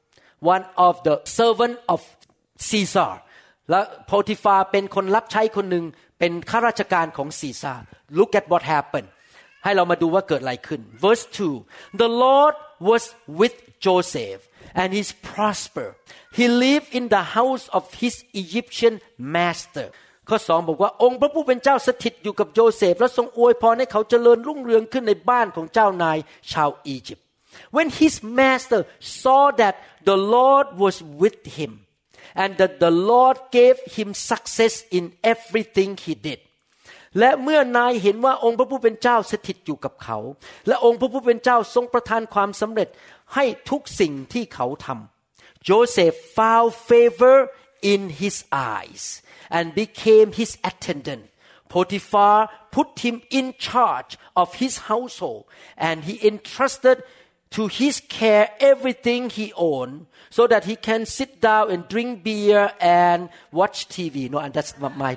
one of the servant of Caesar และโพติฟาเป็นคนรับใช้คนหนึ่งเป็นข้าราชการของซีซ่า look at what happened ให้เรามาดูว่าเกิดอะไรขึ้น verse 2 the Lord was with Joseph and he prospered he lived in the house of his Egyptian master ข้อ2บอกว่าองค์พระผู้เป็นเจ้าสถิตอยู่กับโยเซฟและทรงอวยพรให้เขาเจริญรุ่งเรืองขึ้นในบ้านของเจ้านายชาวอียิปต์ when his master saw that the Lord was with him and that the Lord gave him success in everything he did และเมื่อนายเห็นว่าองค์พระผู้เป็นเจ้าสถิตอยู่กับเขาและองค์พระผู้เป็นเจ้าทรงประทานความสำเร็จให้ทุกสิ่งที่เขาทำ Joseph found favor in his eyes and became his attendant Potiphar put him in charge of his household and he entrusted to his care everything he owned so that he can sit down and drink beer and watch TV no and that's my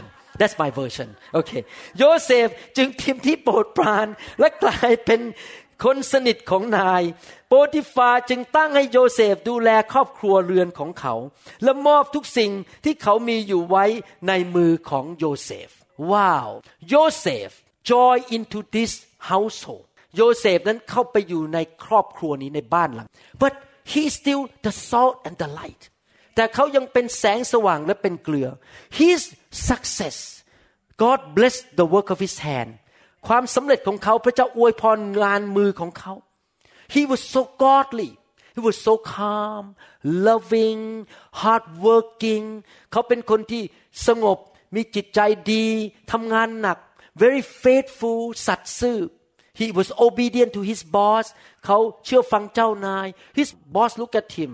version okay โยเซฟจึงทิมที่โปรดปรานและกลายเป็นคนสนิทของนายโปติฟาจึงตั้งให้โยเซฟดูแลครอบครัวเรือนของเขาและมอบทุกสิ่งที่เขามีอยู่ไว้ในมือของโยเซฟว้าวโยเซฟ join into this household โยเซฟนั้นเข้าไปอยู่ในครอบครัวนี้ในบ้านหลัง but he is still the salt and the light แต่เขายังเป็นแสงสว่างและเป็นเกลือ his success God blessed the work of his hand ความสำเร็จของเขาพระเจ้าอวยพรงานมือของเขา He was so godly He was so calm loving hardworking เขาเป็นคนที่สงบมีจิตใจดีทำงานหนัก very faithful สัตย์ซื่อ He was obedient to his boss เขาเชื่อฟังเจ้านาย His boss looked at him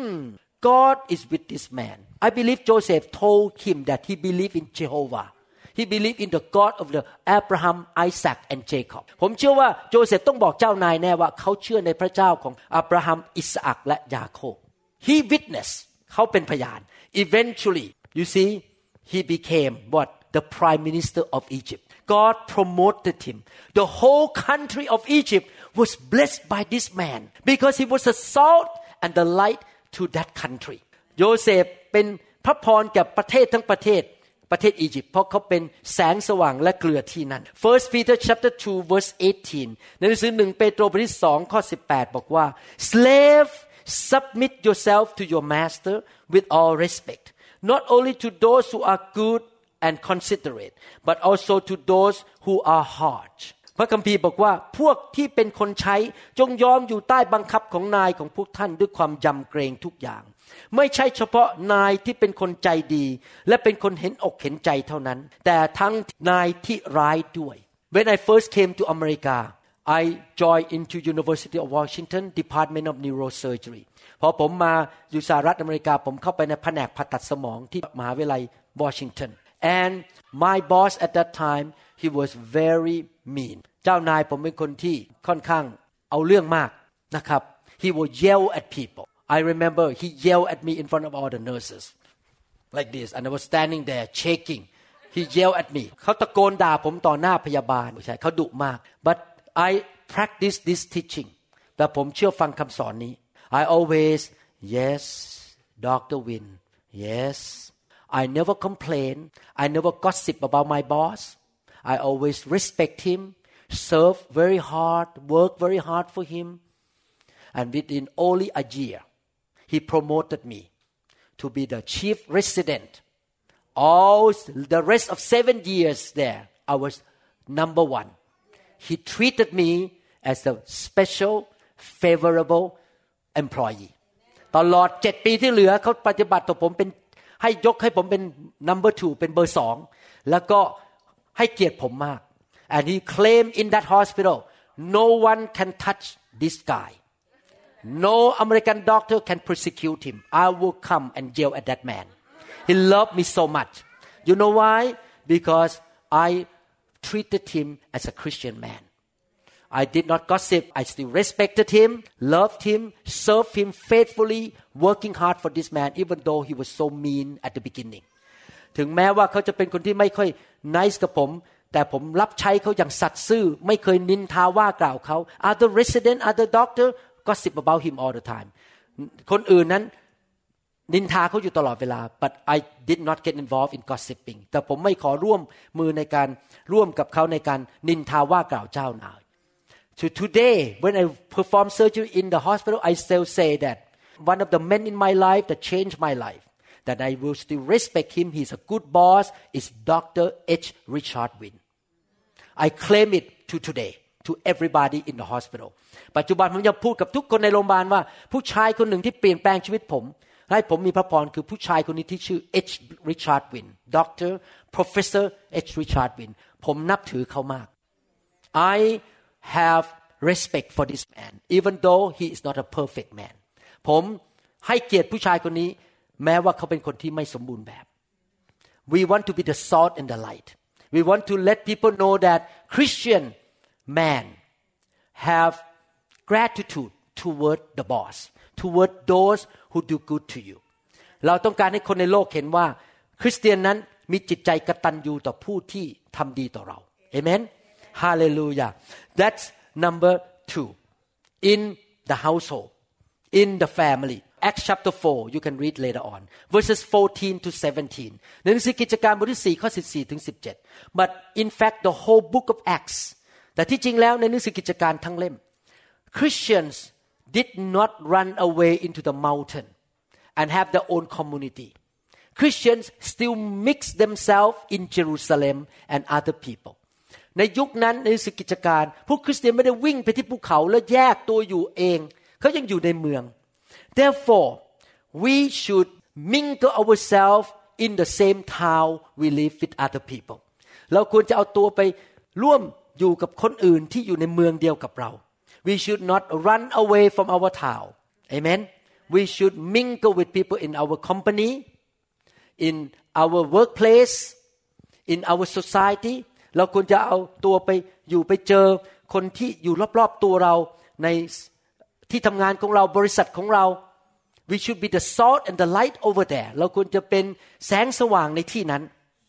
God is with this man I believe Joseph told him that he believed in Jehovah He believed in the God of the Abraham Isaac and Jacob ผมเชื่อว่าโจเซฟต้องบอกเจ้านายแน่ว่าเขาเชื่อในพระเจ้าของอับราฮัมอิสอัคและยาโคบ He witnessed เขาเป็นพยาน Eventually you see he became what the prime minister of Egypt God promoted him the whole country of Egypt was blessed by this man because he was the salt and the light to that country โยเซฟเป็นพระพรแก่ประเทศทั้งประเทศอียิปต์เพราะเขาเป็นแสงสว่างและเกลือที่นั่น First Peter chapter 2 verse 18 ในหนังสือ1เปโตรบทที่2ข้อ18บอกว่า Slave submit yourself to your master with all respect not only to those who are good and considerate but also to those who are harsh พระคัมภีร์บอกว่าพวกที่เป็นคนใช้จงยอมอยู่ใต้บังคับของนายของพวกท่านด้วยความยำเกรงทุกอย่างไม่ใช่เฉพาะนายที่เป็นคนใจดีและเป็นคนเห็นอกเห็นใจเท่านั้นแต่ทั้งนายที่ร้ายด้วย When I first came to America I joined into University of Washington Department of Neurosurgery พอผมมาอยู่สหรัฐอเมริกาผมเข้าไปในแผนกผ่าตัดสมองที่มหาวิทยาลัย Washington and my boss at that time he was very mean เจ้านายผมเป็นคนที่ค่อนข้างเอาเรื่องมากนะครับ he would yell at people I remember he yelled at me in front of all the nurses like this and I was standing there shaking he yelled at me เขาตะโกนด่าผมต่อหน้าพยาบาลใช่เขาดุมาก but I practice this teaching แต่ผมเชื่อฟังคำสอนนี้ I always yes Dr. Win yes I never complain I never gossip about my boss I always respect him serve very hard work very hard for him and within only a year he promoted me to be the chief resident all the rest of 7 years there I was number one he treated me as a special favorable employee ตลอด7 ปีที่เหลือเขาปฏิบัติต่อผมเป็นให้ยกให้ผมเป็น number 2เป็นเบอร์2แล้วก็ให้เกียรติผมมาก and he claimed in that hospital no one can touch this guy No American doctor can persecute him. I will come and yell at that man. He loved me so much. You know why? Because I treated him as a Christian man. I did not gossip. I still respected him, loved him, served him faithfully, working hard for this man, even though he was so mean at the beginning. ถึงแม้ว่าเขาจะเป็นคนที่ไม่ค่อย nice กับผมแต่ผมรับใช้เขาอย่างสัตย์ซื่อไม่เคยนินทาว่ากล่าวเขา Other resident, other doctor gossip about him all the time คนอื่นนั้นนินทาเขาอยู่ตลอดเวลา but I did not get involved in gossiping แต่ผมไม่ขอร่วมมือในการร่วมกับเขาในการนินทาว่ากล่าวเจ้านาย So today when I perform surgery in the hospital I still say that one of the men in my life that changed my life that I will still respect him he's a good boss is Dr. H. Richard Win I claim it to today to everybody in the hospital ปัจจุบันผมจะพูดกับทุกคนในโรงพยาบาลว่าผู้ชายคนหนึ่งที่เปลี่ยนแปลงชีวิตผมให้ผมมีพระพรคือผู้ชายคนนี้ที่ชื่อ H. Richard Win Dr. Professor H. Richard Win ผมนับถือเขามาก I have respect for this man even though he is not a perfect man ผมให้เกียรติผู้ชายคนนี้แม้ว่าเขาเป็นคนที่ไม่สมบูรณ์แบบ We want to be the salt and the light We want to let people know that Christian man have gratitude toward the boss toward those who do good to you เราต้องการให้คนในโลกเห็นว่าคริสเตียนนั้นมีจิตใจกตัญญูต่อผู้ที่ทำดีต่อเรา Amen Hallelujah That's number 2 in the household in the family Acts chapter 4 you can read later on verses 14 to 17ในหนังสือกิจการบทที่4ข้อ14ถึง17 but in fact the whole book of Acts แต่ที่จริงแล้วในหนังสือกิจการทั้งเล่ม Christians did not run away into the mountain and have their own community Christians still mix themselves in Jerusalem and other people ในยุคนั้นในศึกกิจการพวกคริสเตียนไม่ได้วิ่งไปที่ภูเขาแล้วแยกตัวอยู่เองเขายังอยู่ในเมือง Therefore we should mingle ourselves in the same town we live with other people เราควรจะเอาตัวไปร่วมอยู่กับคนอื่นที่อยู่ในเมืองเดียวกับเรา We should not run away from our town Amen We should mingle with people in our company in our workplace in our society เราควรจะเอาตัวไปอยู่ไปเจอคนที่อยู่รอบๆตัวเราในที่ทำงานของเราบริษัทของเรา We should be the salt and the light over there เราควรจะเป็นแสงสว่างในที่นั้น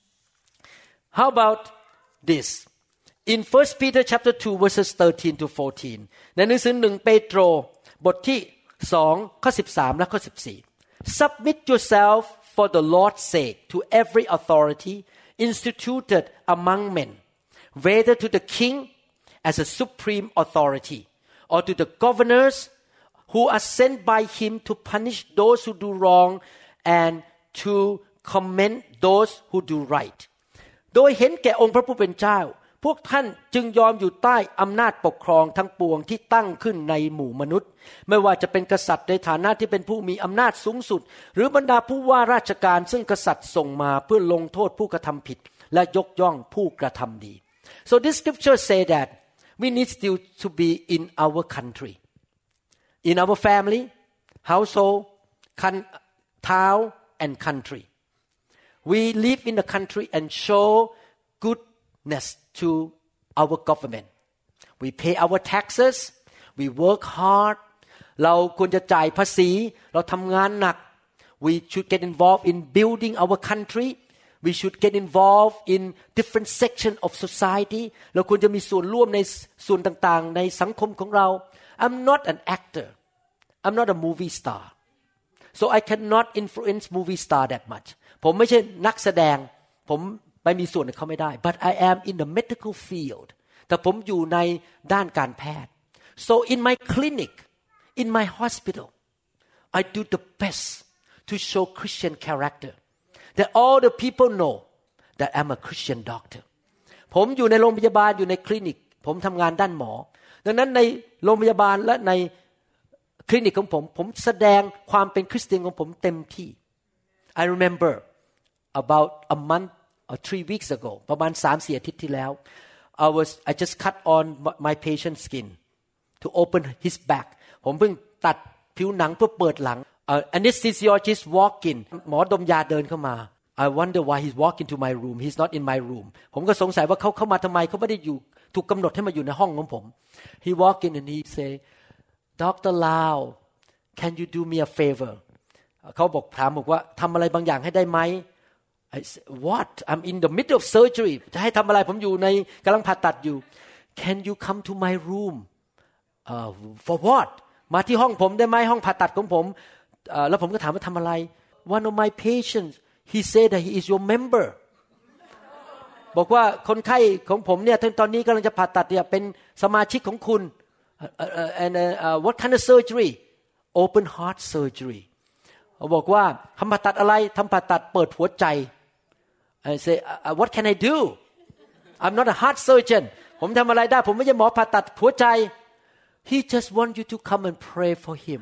How about this in 1 Peter chapter 2 verses 13 to 14 ในหนังสือ1เปโตรบทที่2ข้อ13และข้อ14 Submit yourself for the Lord's sake to every authority instituted among men whether to the king as a supreme authority or to the governors who are sent by him to punish those who do wrong and to commend those who do right โดยเห็นแก่องค์พระผู้เป็นเจ้าพวกท่านจึงยอมอยู่ใต้อำนาจปกครองทั้งปวงที่ตั้งขึ้นในหมู่มนุษย์ไม่ว่าจะเป็นกษัตริย์ในฐานะที่เป็นผู้มีอำนาจสูงสุดหรือบรรดาผู้ว่าราชการซึ่งกษัตริย์ส่งมาเพื่อลงโทษผู้กระทำผิดและยกย่องผู้กระทำดี So this scripture say that we need still to be in our country in our family household town and country we live in the country and show goodness to our government we pay our taxes we work hard เราควรจะจ่ายภาษีเราทำงานหนัก we should get involved in building our country we should get involved in different sections of society เราควรจะมีส่วนร่วมในส่วนต่างๆในสังคมของเรา I'm not an actor I'm not a movie star so I cannot influence movie star that much ผมไม่ใช่นักแสดงผมไปมีส่วนกับเขาไม่ได้ but I am in the medical field แต่ผมอยู่ในด้านการแพทย์ so in my clinic in my hospital I do the best to show Christian character that all the people know that I'm a Christian doctor ผมอยู่ในโรงพยาบาลอยู่ในคลินิกผมทำงานด้านหมอดังนั้นในโรงพยาบาลและในคลินิกของผมแสดงความเป็นคริสเตียนของผมเต็มที่ I remember about a month or 3 weeks ago ประมาณ 3-4 อาทิตย์ที่แล้ว I just cut on my patient's skin to open his back ผมเพิ่งตัดผิวหนังเพื่อเปิดหลัง anesthesiologist walk in หมอดมยาเดินเข้ามา I wonder why he's walking to my room he's not in my room ผมก็สงสัยว่าเขาเข้ามาทำไมเขาไม่ได้อยู่ถูกกำหนดให้มาอยู่ในห้องของผม He walk in and he say Dr. Lau can you do me a favor เขาบอกถามบอกว่าทำอะไรบางอย่างให้ได้ไหมI said, What? I'm in the middle of surgery. จะให้ทำอะไรผมอยู่ในกำลังผ่าตัดอยู่ Can you come to my room? For what? มาที่ห้องผมได้ไหมห้องผ่าตัดของผมแล้วผมก็ถามว่าทำอะไร One of my patients, he said that he is your member. บอกว่าคนไข้ของผมเนี่ยตอนนี้กำลังจะผ่าตัดเนี่ยเป็นสมาชิกของคุณ And what kind of surgery? Open heart surgery. เขาบอกว่าทำผ่าตัดอะไรทำผ่าตัดเปิดหัวใจ I say what can I do I'm not a heart surgeon ผมทำอะไรได้ผมไม่ใช่หมอผ่าตัดหัวใจ He just want you to come and pray for him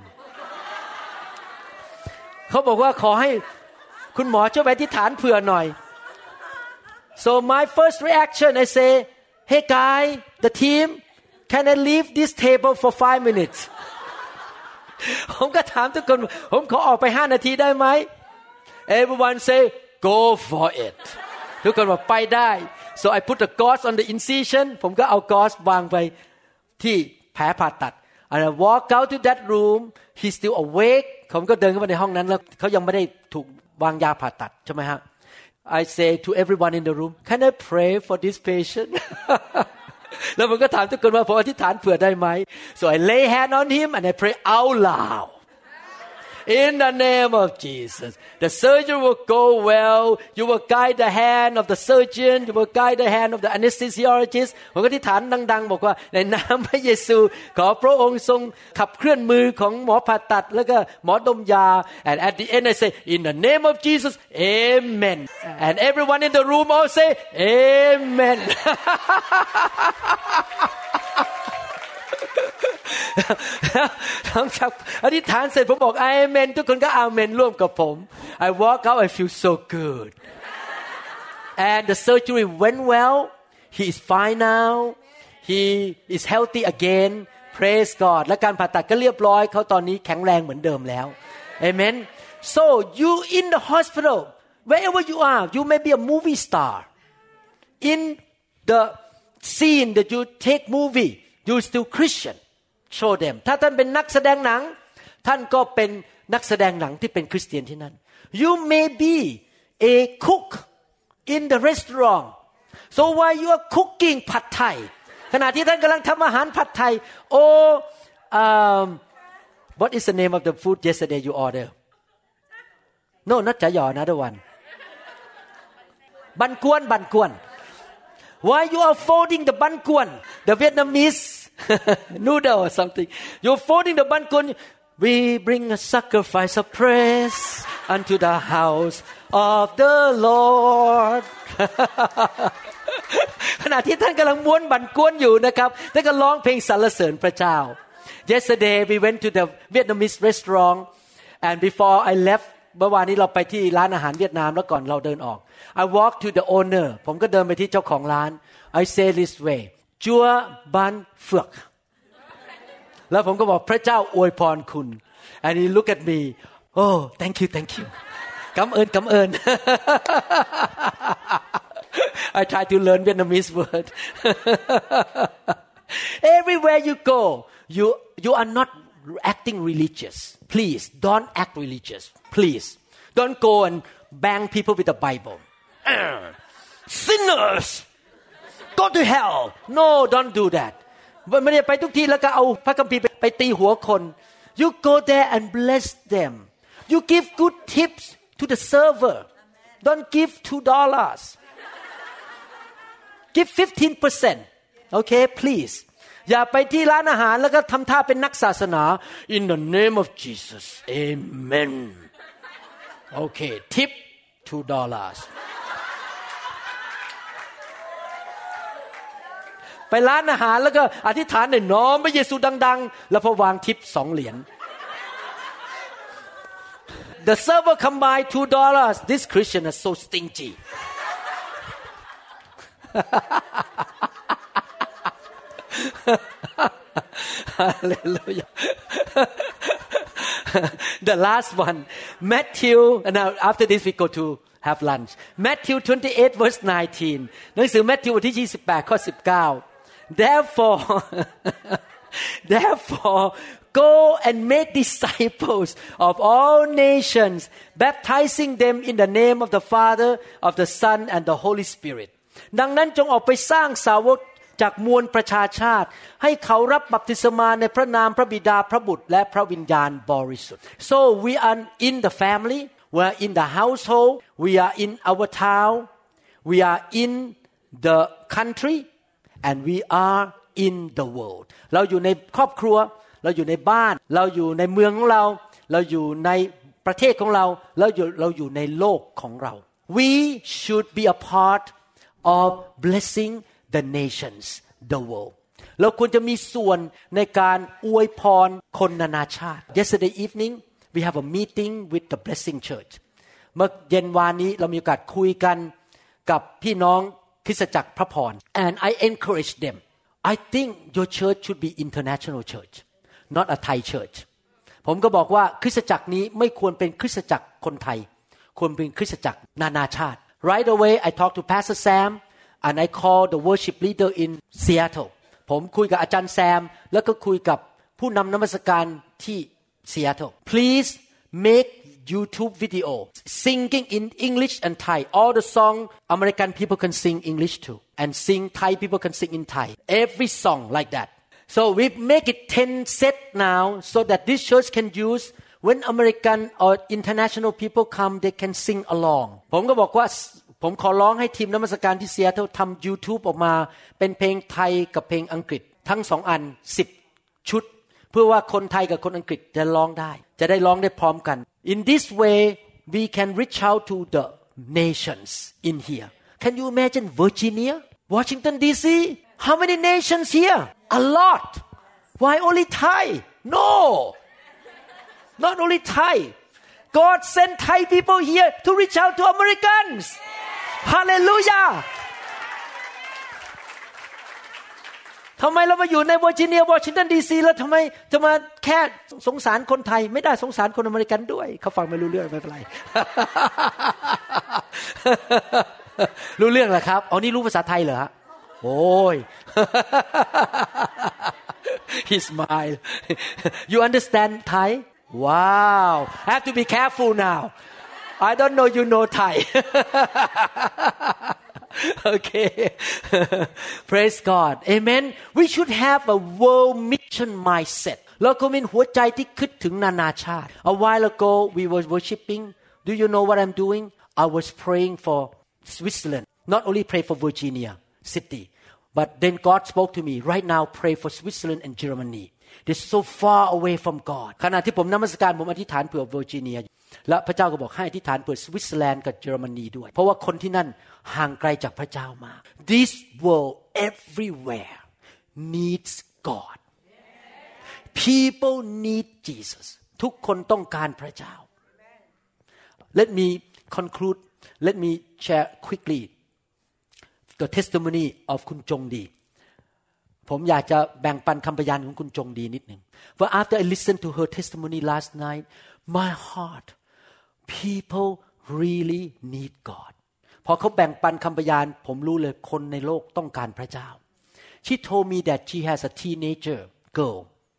เขาบอกว่าขอให้คุณหมอช่วยอธิษฐานเผื่อหน่อย So my first reaction I say Hey guy the team can I leave this table for 5 minutes ผมก็ถามทุกคนผมขอออกไป5 นาทีได้ไหม Everyone say go for it ทุกคนบอกไปได้ so I put the gauze on the incision ผมก็เอา gauze วางไปที่แผลผ่าตัด and I walk out to that room he's still awake ผมก็เดินเข้าไปในห้องนั้นแล้วเขายังไม่ได้ถูกวางยาผ่าตัดใช่ไหมฮะ I say to everyone in the room can I pray for this patient แล้วผมก็ถามทุกคนว่าผมอธิษฐานเผื่อได้ไหม so I lay hand on him and I pray out loud in the name of Jesus the surgery will go well you will guide the hand of the surgeon you will guide the hand of the anesthesiologist ผมก็อธิษฐานดังๆบอกว่าในนามพระเยซูขอพระองค์ทรงขับเคลื่อนมือของหมอผ่าตัดแล้วก็หมอดมยา and at the end I say in the name of Jesus amen and everyone in the room all say amen หลังจากอธิษฐานเสร็จผมบอกอาเมนทุกคนก็อาเมนร่วมกับผม I walk out I feel so good and the surgery went well he is fine now he is healthy again praise God และการผ่าตัดก็เรียบร้อยเขาตอนนี้แข็งแรงเหมือนเดิมแล้ว Amen so you in the hospital wherever you are you may be a movie star in the scene that you take movie you still Christian show them ถ้าท่านเป็นนักแสดงหนังท่านก็เป็นนักแสดงหนังที่เป็นคริสเตียนที่นั่น you may be a cook in the restaurant so while you are cooking ผัดไทยขณะที่ท่านกำลังทำอาหารผัดไทย or what is the name of the food yesterday you order no not จ๋าหยอ another one บันกวนwhile you are folding the ban kuan the Vietnamese noodle or something you're folding the ban kuan we bring a sacrifice of praise unto the house of the Lord ขณะที่ท่านกำลังม้วนบันกวนอยู่นะครับท่านก็ร้องเพลงสรรเสริญพระเจ้า yesterday we went to the Vietnamese restaurant and before I left เมื่อวานนี้เราไปที่ร้านอาหารเวียดนามแล้วก่อนเราเดินออก I walked to the owner ผมก็เดินไปที่เจ้าของร้าน I say this way จัวบันเฟือกแล้วผมก็บอกพระเจ้าอวยพรคุณ and he look at me oh thank you กำเอิญI try to learn Vietnamese word everywhere you go you are not acting religious please don't act religious please don't go and bang people with the Bible sinners go to hell no don't do that ไม่ได้ไปทุกที่แล้วก็เอาพระคัมภีร์ไปตีหัวคน you go there and bless them you give good tips to the server don't give $2 give 15% okay please อย่าไปที่ร้านอาหารแล้วก็ทำท่าเป็นนักศาสนา in the name of Jesus amen okay tip $2 ไปร้านอาหารแล้วก็อธิษฐานในนามพระเยซูดังๆแล้วพอวางทิป2 เหรียญ The server come by $2 this Christian is so stingy Hallelujah The last one Matthew and now after this we go to have lunch Matthew 28 verse 19หนังสือ Matthew บทที่28ข้อ19 Therefore go and make disciples of all nations baptizing them in the name of the Father of the Son and the Holy Spirit ดังนั้นจงออกไปสร้างสาวกจากมวลประชาชาติให้เขารับบัพติศมาในพระนามพระบิดาพระบุตรและพระวิญญาณบริสุทธิ์ So we are in the family we are in the household we are in our town we are in the country and we are in the world เราอยู่ในครอบครัวเราอยู่ในบ้านเราอยู่ในเมืองของเราเราอยู่ในประเทศของเราเราอยู่ในโลกของเรา We should be a part of blessing the nations the world เราควรจะมีส่วนในการอวยพรคนนานาชาติ Yesterday evening we have a meeting with the Blessing Church เมื่อเย็นวานนี้เรามีโอกาสคุยกันกับพี่น้องคริสตจักรพระพร and I encourage them I think your church should be international church not a Thai church ผมก็บอกว่าคริสตจักรนี้ไม่ควรเป็นคริสตจักรคนไทยควรเป็นคริสตจักรนานาชาติ Right away I talked to Pastor Sam and I called the worship leader in Seattle ผมคุยกับอาจารย์แซมแล้วก็คุยกับผู้นำนมัสการที่ Seattle Please make YouTube video singing in English and Thai all the song American people can sing English too and sing Thai people can sing in Thai every song like that So we make it 10 set now so that this church can use when American or international people come they can sing along ผมก็บอกว่าผมขอร้องให้ทีมนมัสการที่เซียเทิลทำ YouTube ออกมาเป็นเพลงไทยกับเพลงอังกฤษทั้ง2อัน10ชุดเพื่อว่าคนไทยกับคนอังกฤษจะร้องได้จะได้ร้องได้พร้อมกัน In this way we can reach out to the nations in here Can you imagine Virginia Washington DC How many nations here A lot Why only Thai No Not only Thai God sent Thai people here to reach out to Americans Hallelujah ทำไมเรามาอยู่ในเวอร์จิเนียวอชิงตันดีซีแล้วทำไมจะมาแค่สงสารคนไทยไม่ได้สงสารคนอเมริกันด้วยเขาฟังไม่รู้เรื่องไม่เป็นไร รู้เรื่องเหรอครับอ๋อนี่รู้ภาษาไทยเหรอโอ้ย He smiled You understand Thai Wow I have to be careful now I don't know you know Thai Okay Praise God Amen We should have a world mission mindset เราก็มีหัวใจที่คิดถึงนานาชาติ A while ago we were worshiping Do you know what I'm doing I was praying for Switzerland not only pray for Virginia city but then God spoke to me right now pray for Switzerland and Germany They're so far away from God ขณะที่ผมนมัสการผมอธิษฐานเผื่อเวอร์จิเนียและพระเจ้าก็บอกให้อธิษฐานเผื่อสวิตเซอร์แลนด์กับเยอรมนีด้วยเพราะว่าคนที่นั่นห่างไกลจากพระเจ้ามาก This world everywhere needs God People need Jesus ทุกคนต้องการพระเจ้า Let me conclude Let me share quickly the testimony of คุณจงดีผมอยากจะแบ่งปันคำพยานของคุณจงดีนิดหนึ่ง But after I listened to her testimony last night my heart people really need God พอเขาแบ่งปันคำพยานผมรู้เลยคนในโลกต้องการพระเจ้า She told me that she has a teenager girl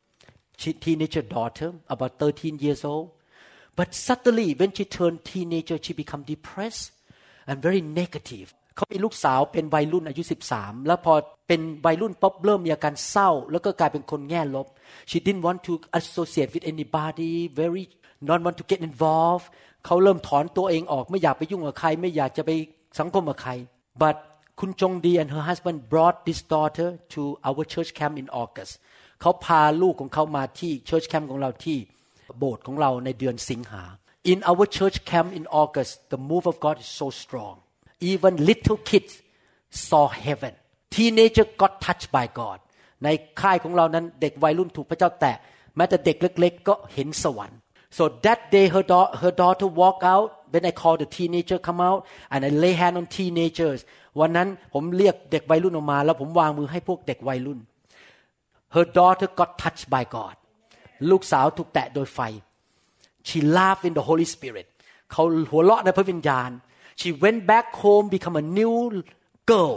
teenager daughter about 13 years old but suddenly when she turned teenager she become depressed and very negativeเขามีลูกสาวเป็นวัยรุ่นอายุ13แล้วพอเป็นวัยรุ่นปุ๊บเริ่มมีอาการเศร้าแล้วก็กลายเป็นคนแง่ลบ She didn't want to associate with anybody very not want to get involved เขาเริ่มถอนตัวเองออกไม่อยากไปยุ่งกับใครไม่อยากจะไปสังคมกับใคร But คุณจงดี and her husband brought this daughter to our church camp in August เขาพาลูกของเขามาที่ church camp ของเราที่โบสถ์ของเราในเดือนสิงหา In our church camp in August the move of God is so strong Even little kids saw heaven. Teenager got touched by God. ในค่ายของเรานั้นเด็กวัยรุ่นถูกพระเจ้าแตะแม้แต่เด็กเล็กๆก็เห็นสวรรค์ So that day her daughter walked out. When I called the teenager come out and I lay hand on teenagers. วันนั้นผมเรียกเด็กวัยรุ่นออกมาแล้วผมวางมือให้พวกเด็กวัยรุ่น Her daughter got touched by God. ลูกสาวถูกแตะโดยไฟ She laughed in the Holy Spirit. เขาหัวเราะในพระวิญญาณShe went back home, become a new girl,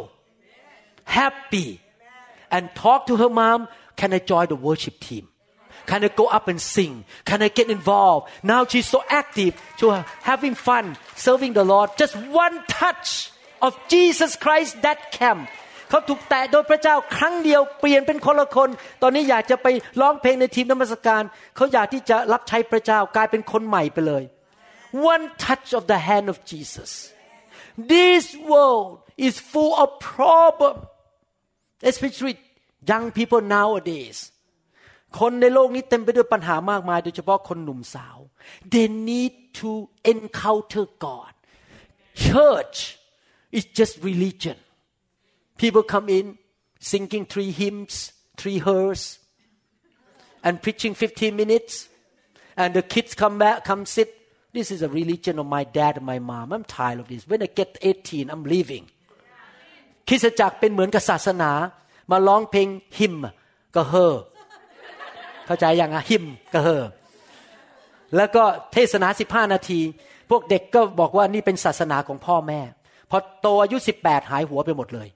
happy, and talked to her mom, can I join the worship team? Can I go up and sing? Can I get involved? Now she's so active, so having fun, serving the Lord. Just one touch of Jesus Christ that camp. เขาถูกแตะโดยพระเจ้าครั้งเดียวเปลี่ยนเป็นคนละคนตอนนี้อยากจะไปร้องเพลงในทีมนมัสการเขาอยากที่จะรับใช้พระเจ้ากลายเป็นคนใหม่ไปเลยOne touch of the hand of Jesus. This world is full of problems, especially young people nowadays. คนในโลกนี้เต็มไปด้วยปัญหามากมายโดยเฉพาะคนหนุ่มสาว They need to encounter God. Church is just religion. People come in singing 3 hymns, 3 hymns, and preaching 15 minutes, and the kids come sit.This is a religion of my dad and my mom. I'm tired of this. When I get 18, I'm leaving. คริสตจักรเป็นเหมือนกับศาสนามาร้องเพลงฮิมก็เฮอเข้าใจยังอ่ะฮิมก็เฮอแล้วก็เทศนา15นาทีพวกเด็กก็บอกว่านี่เป็นศาสนาของพ่อแม่พอโตอายุ18หายหัวไปหมดเลย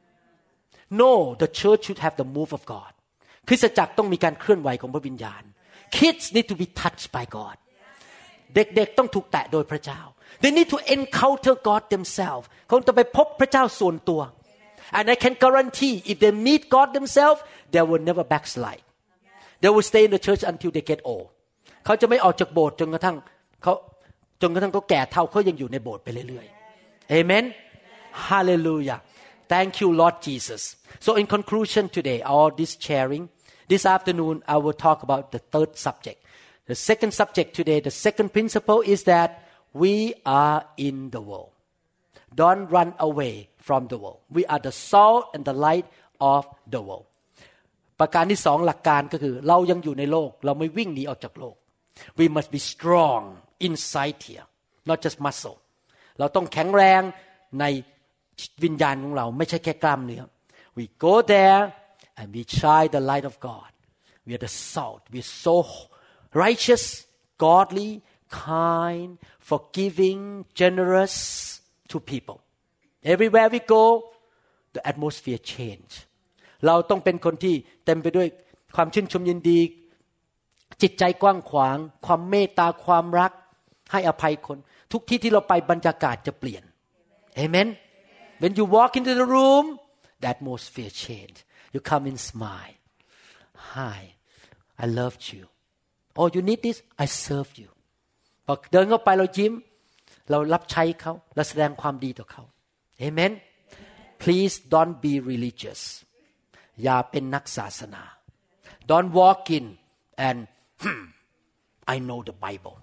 No, the church should have the move of God. คริสตจักรต้องมีการเคลื่อนไหวของพระวิญญาณ Kids need to be touched by God.เด็กๆต้องถูกแตะโดยพระเจ้า They need to encounter God themselves เขาจะไปพบพระเจ้าส่วนตัว And I can guarantee if they meet God themselves they will never backslide They will stay in the church until they get old เขาจะไม่ออกจากโบสถ์จนกระทั่งเขาแก่เฒ่าเขายังอยู่ในโบสถ์ไปเรื่อยๆเอเมน Hallelujah Thank you Lord Jesus So in conclusion today all this sharing this afternoon I will talk about the third subject The second subject today the second principle is that we are in the world Don't run away from the world We are the salt and the light of the world ประการที่2หลักการก็คือเรายังอยู่ในโลกเราไม่วิ่งหนีออกจากโลก We must be strong inside here not just muscle เราต้องแข็งแรงในวิญญาณของเราไม่ใช่แค่กล้ามเนื้อ We go there and we shine the light of God We are the salt We are so righteous godly kind forgiving generous to people Everywhere we go the atmosphere change เราต้องเป็นคนที่เต็มไปด้วยความชื่นชมยินดีจิตใจกว้างขวางความเมตตาความรักให้อภัยคนทุกที่ที่เราไปบรรยากาศจะเปลี่ยน Amen When you walk into the room the atmosphere change you come in smile Hi I loved you Oh you need this I serve you พอเดินเข้าไปเรายิ้มเรารับใช้เขาเราแสดงความดีต่อเขา Amen Please don't be religious อย่าเป็นนักศาสนา Don't walk in and I know the Bible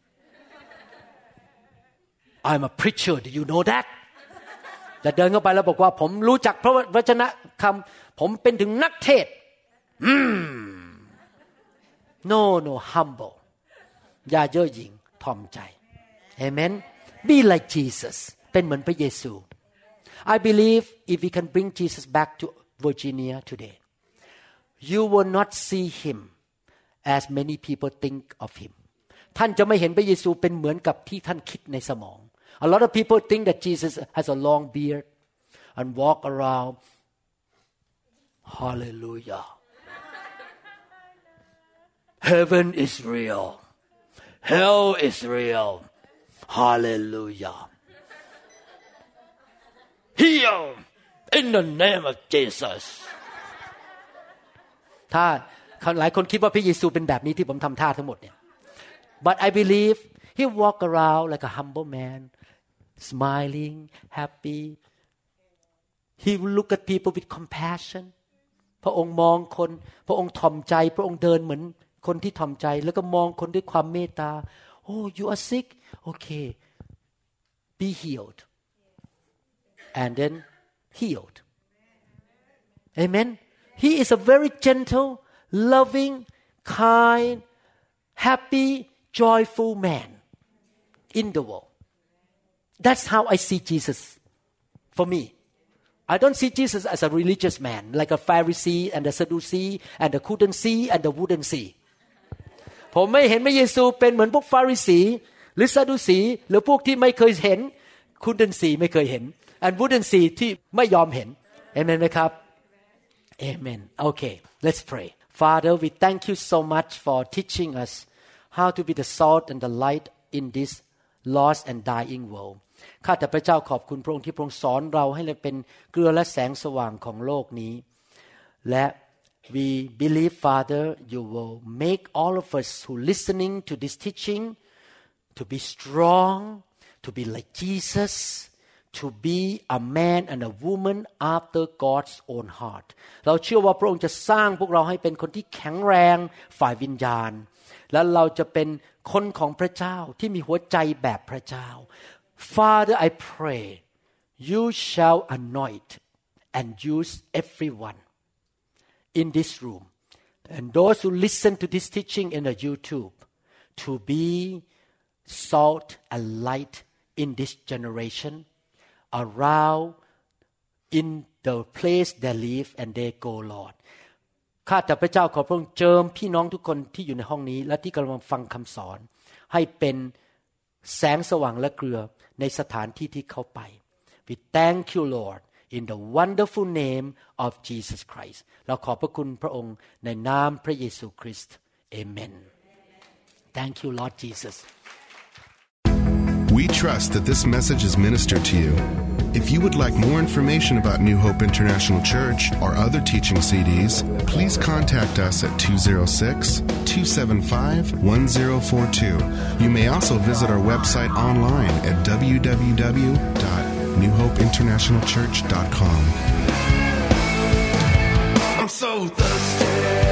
I'm a preacher do you know that จะเดินเข้าไปแล้วบอกว่าผมรู้จักพระวจนะคำผมเป็นถึงนักเทศNo humble อย่าเย่อหยิ่งถ่อมใจ Amen Be like Jesus เป็นเหมือนพระเยซู I believe if we can bring Jesus back to Virginia today you will not see him as many people think of him ท่านจะไม่เห็นพระเยซูเป็นเหมือนกับที่ท่านคิดในสมอง A lot of people think that Jesus has a long beard and walk around Hallelujah Heaven is real Hell is real Hallelujah Heal in the name of Jesus ถ้าหลายคนคิดว่าพระเยซูเป็นแบบนี้ที่ผมทำท่าทั้งหมดเนี่ย But I believe he walk around like a humble man smiling happy he will look at people with compassion พระองค์มองคนพระองค์ถ่อมใจพระองค์เดินเหมือนคนที่ถ่อมใจแล้วก็มองคนด้วยความเมตตา Oh you are sick okay be healed and then healed Amen He is a very gentle loving kind happy joyful man in the world That's how I see Jesus for me I don't see Jesus as a religious man like a Pharisee and a Sadducee and the couldn't see and the wouldn't see ผมไม่เห็นพระเยซูเป็นเหมือนพวกฟาริสีหรือซาดูสีหรือพวกที่ไม่เคยเห็น couldn't see ไม่เคยเห็น and wouldn't see ที่ไม่ยอมเห็น Amen ไหมครับ Amen Okay let's pray Father we thank you so much for teaching us how to be the salt and the light in this lost and dying world ข้าแต่พระเจ้าขอบคุณพระองค์ที่พระองค์สอนเราให้เราเป็นเกลือและแสงสว่างของโลกนี้และ we believe Father you will make all of us who listening to this teaching to be strong to be like Jesus to be a man and a woman after God's own heart เราเชื่อว่าพระองค์จะสร้างพวกเราให้เป็นคนที่แข็งแรงฝ่ายวิญญาณและเราจะเป็นคนของพระเจ้าที่มีหัวใจแบบพระเจ้า Father I pray you shall anoint and use everyone in this room and those who listen to this teaching in the YouTube to be salt and light in this generation around in the place they live and they go Lord ข้าแต่พระเจ้าขอพระองค์เจิมพี่น้องทุกคนที่อยู่ในห้องนี้และที่กำลังฟังคำสอนให้เป็นแสงสว่างและเกลือในสถานที่ที่เขาไป We thank you Lord in the wonderful name of Jesus Christ เราขอบพระคุณพระองค์ในนามพระเยซูคริสต์ Amen Thank you Lord Jesus We trust that this message is ministered to you. If you would like more information about New Hope International Church or other teaching CDs, please contact us at 206-275-1042. You may also visit our website online at www.newhopeinternationalchurch.com. I'm so thirsty.